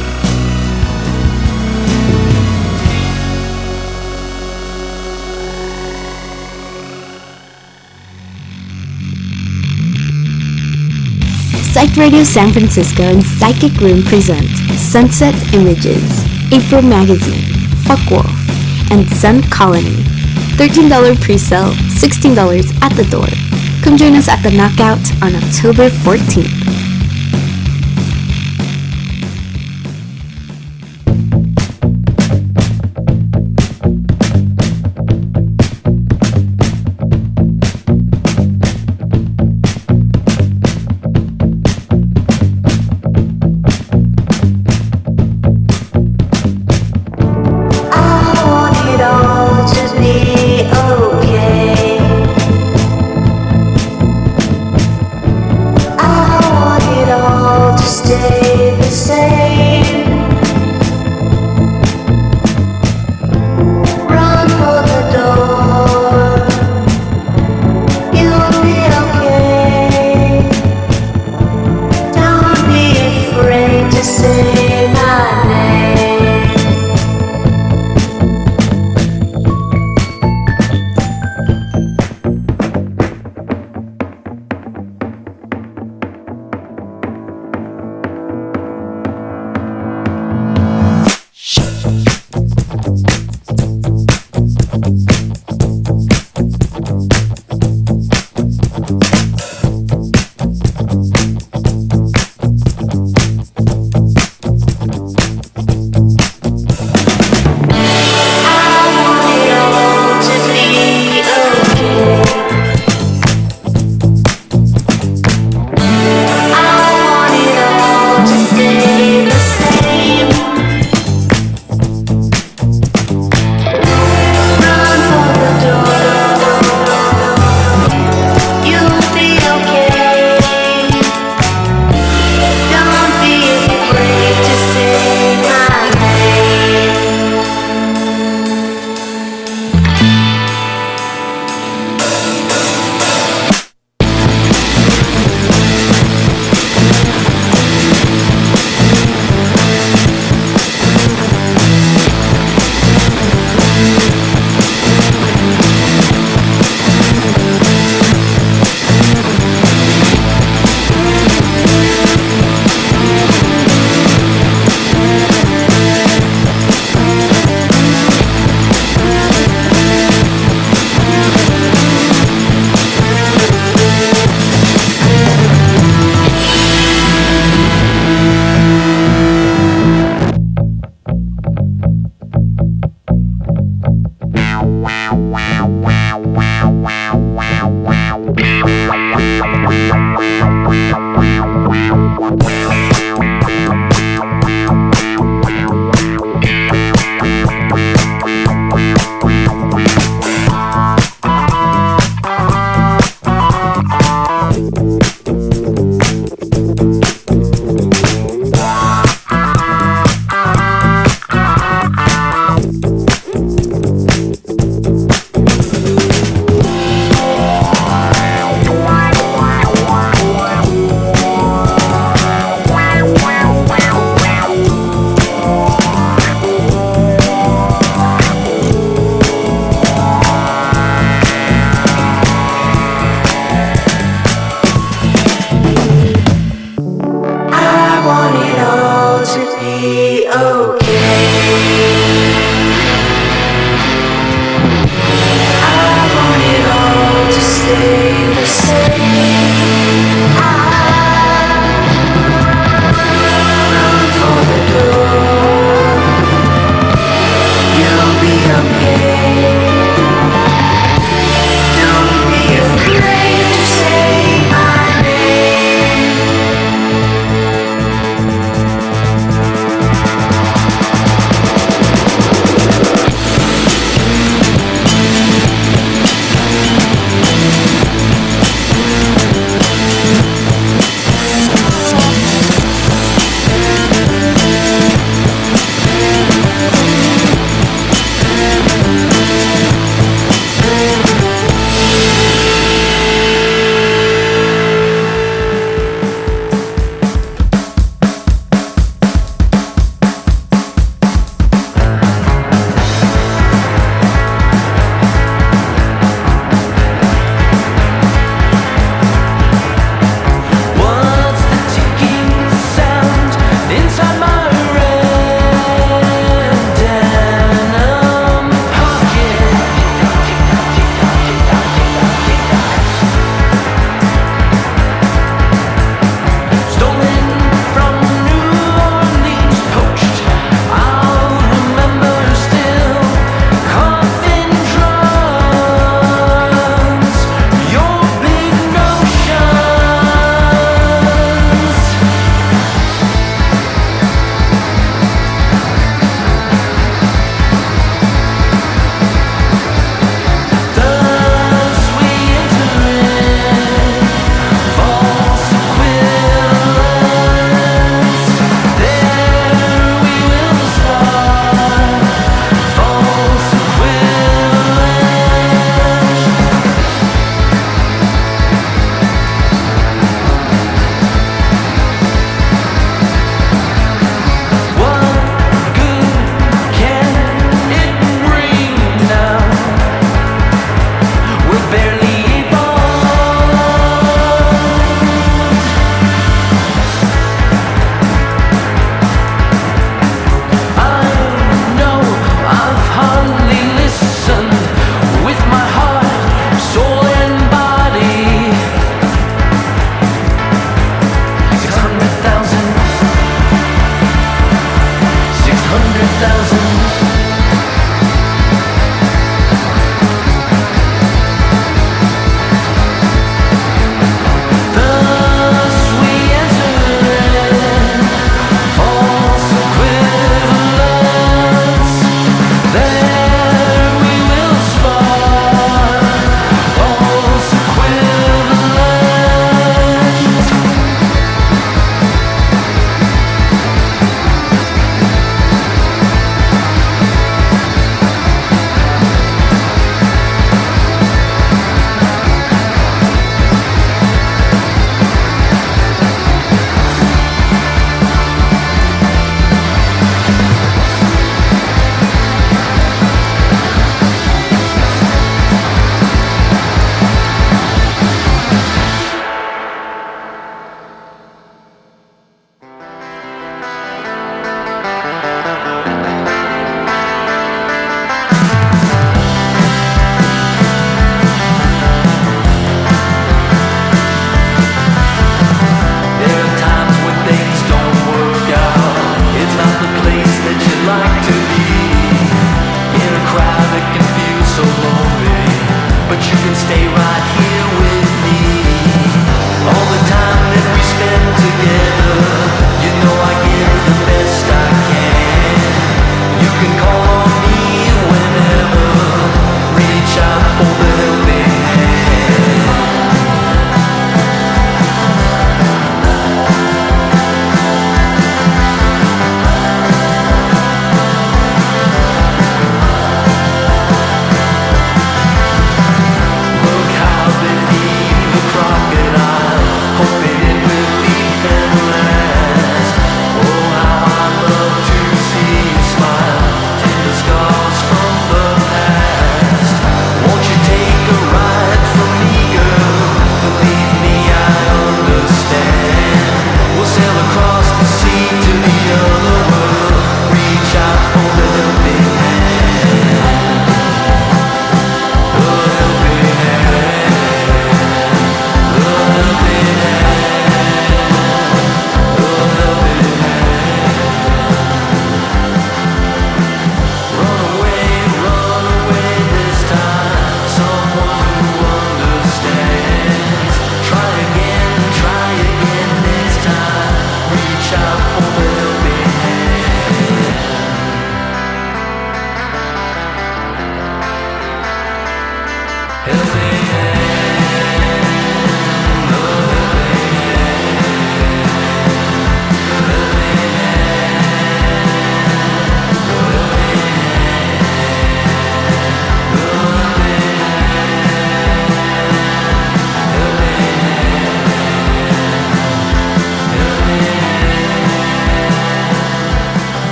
Psyched Radio San Francisco and Psychic Room present Sunset Images, April Magazine, Fuckwolf, and Sun Colony. $13 pre-sale, $16 at the door. Come join us at the Knockout on October 14th. I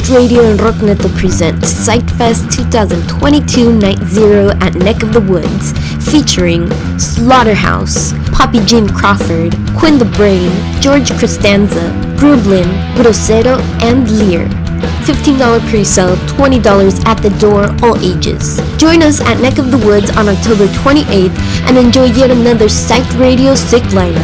Psyched Radio and Rockneto present Psychfest 2022 Night Zero at Neck of the Woods, featuring Slaughterhouse, Poppy Jane Crawford, Quinn the Brain, George Costanza, Grublin, Grosero, and Lear. $15 pre-sale, $20 at the door, all ages. Join us at Neck of the Woods on October 28th and enjoy yet another Psyched Radio sick lineup.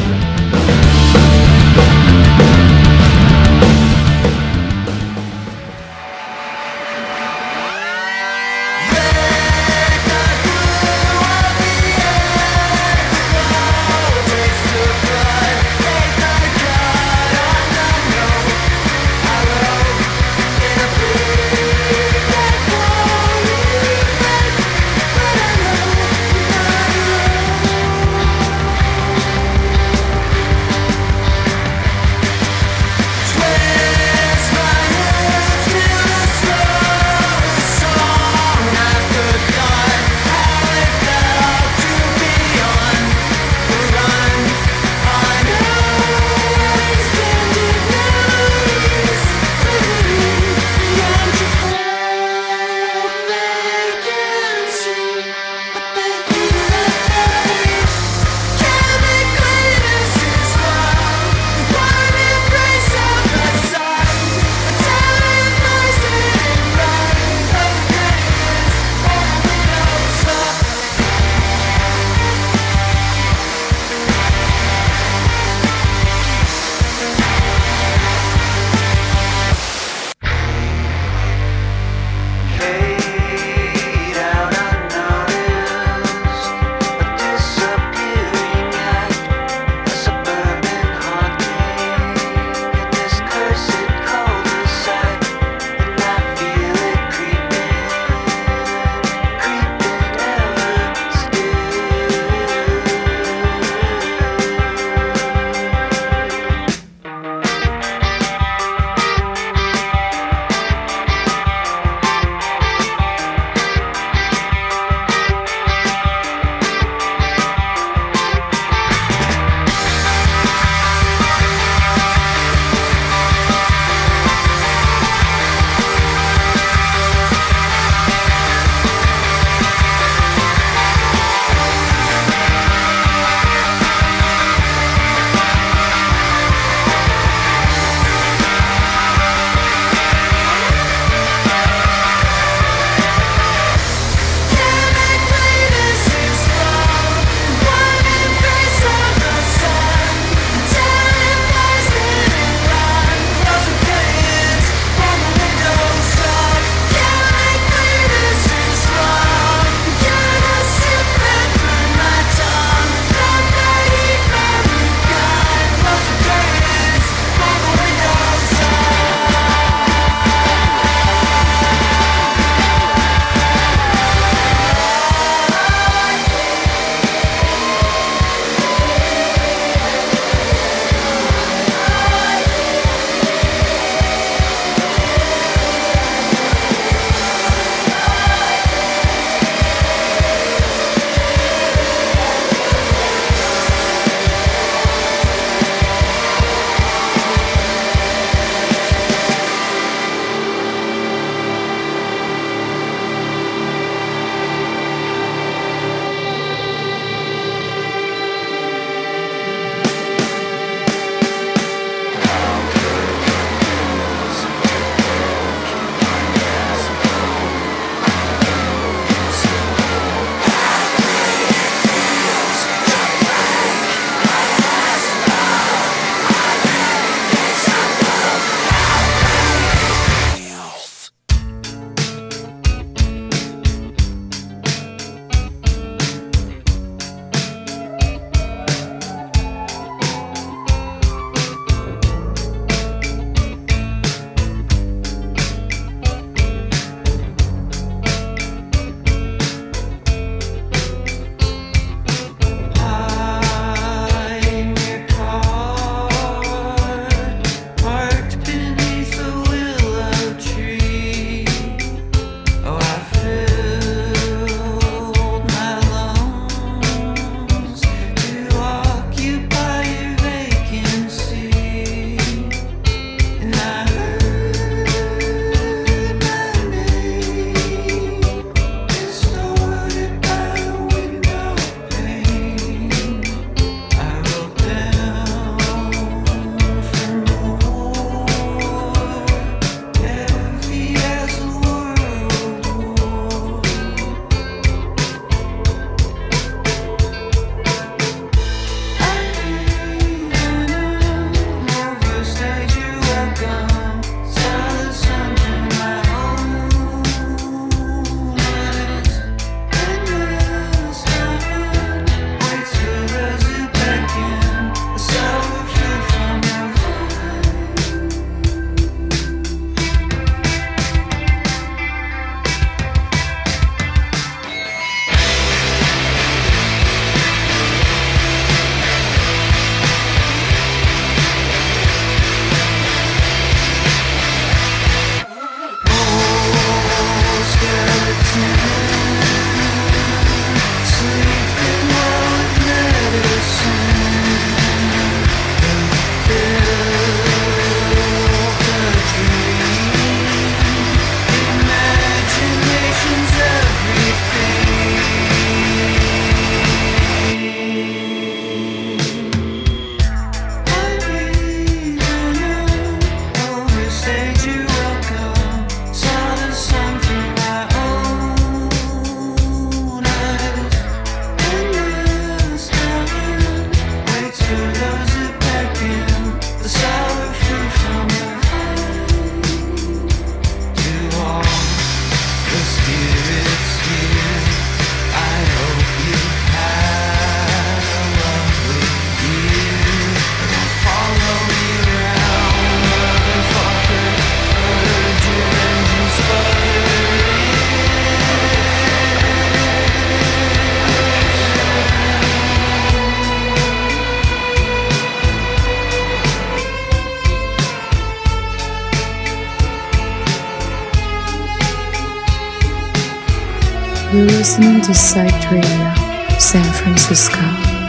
You're listening to Psyched Radio, San Francisco.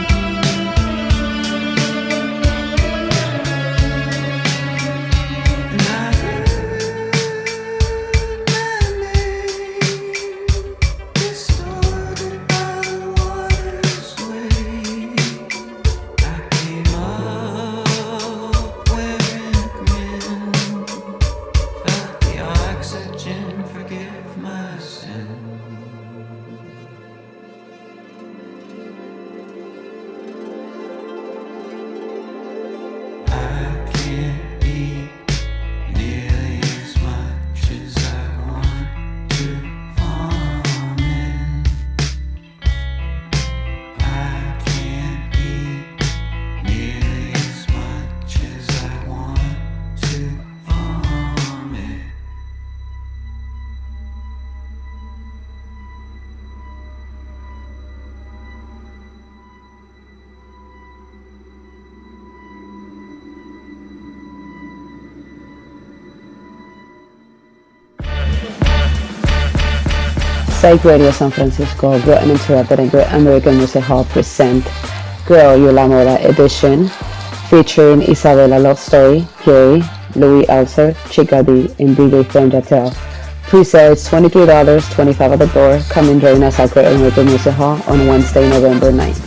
Psyched Radio San Francisco, Great Uninterrupted and Great American Music Hall present Girl, You La Moda edition, featuring Isabella Love Story, Gary, Louis Alcer, Chica D, and DJ Flame Jatel. Pre-sale is $23, $25 at the door. Come and join us at Great American Music Hall on Wednesday, November 9th.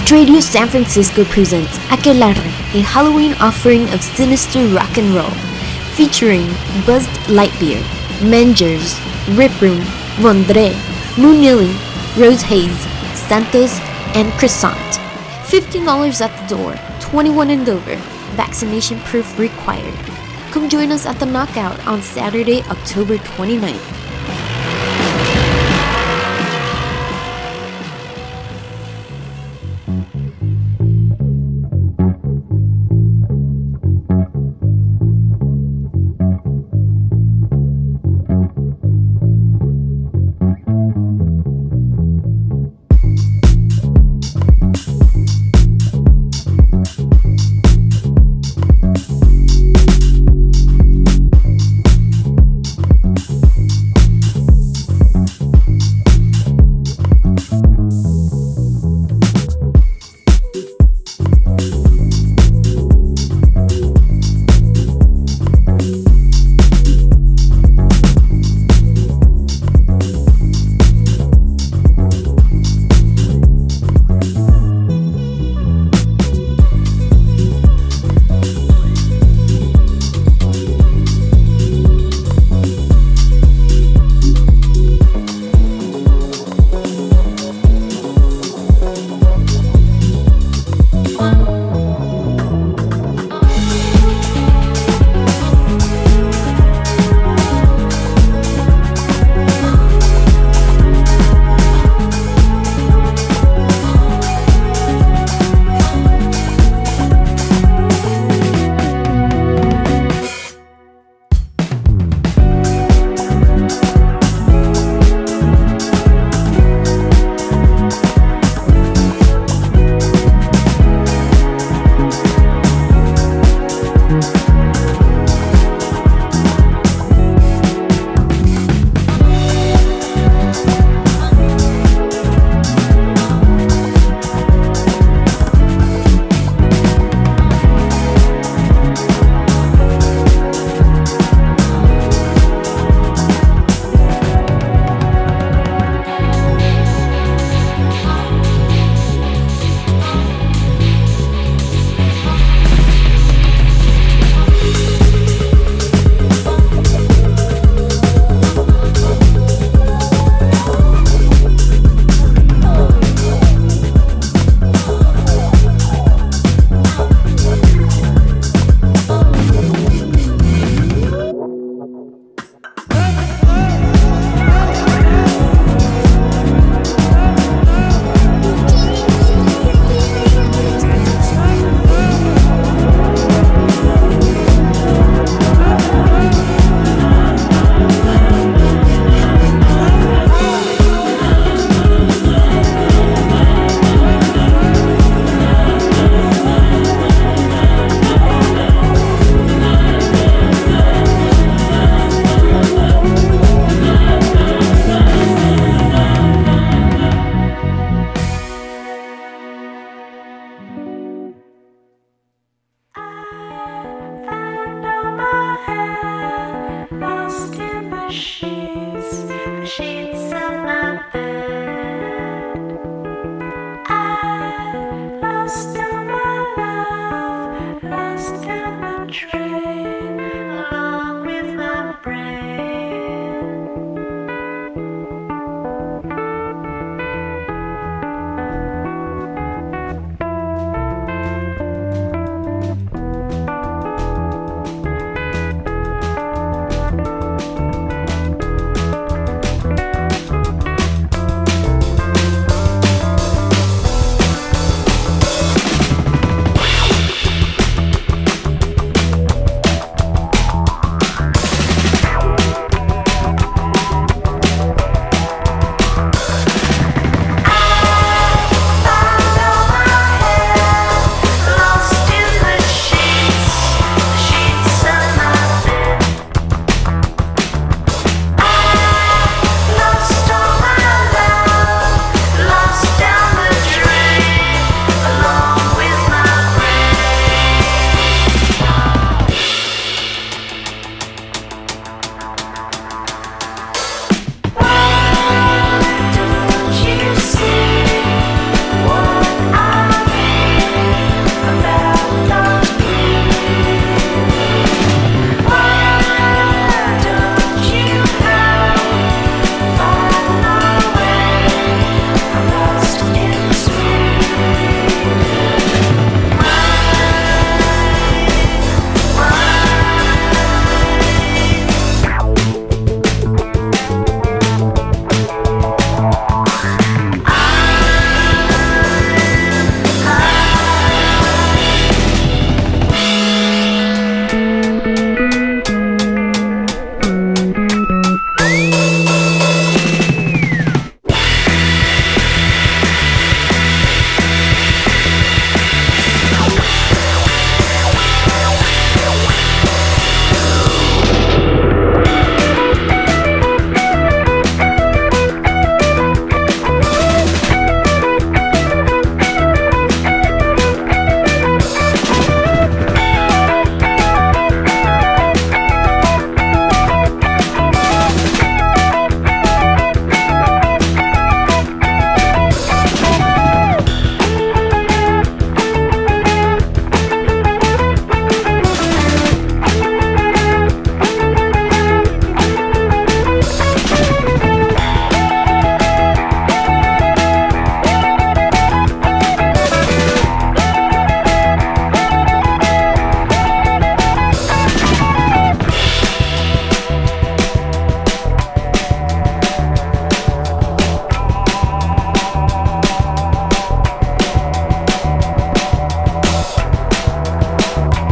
Psyched Radio San Francisco presents Aquelarre, a Halloween offering of sinister rock and roll, featuring Buzzed Lightbeer, Mengers, Rip Room, Vondre, Moonilly, Rose Haze, Santos, and Croissant. $15 at the door, 21 and over, vaccination proof required. Come join us at the Knockout on Saturday, October 29th. Lost in my love, lost in my dreams.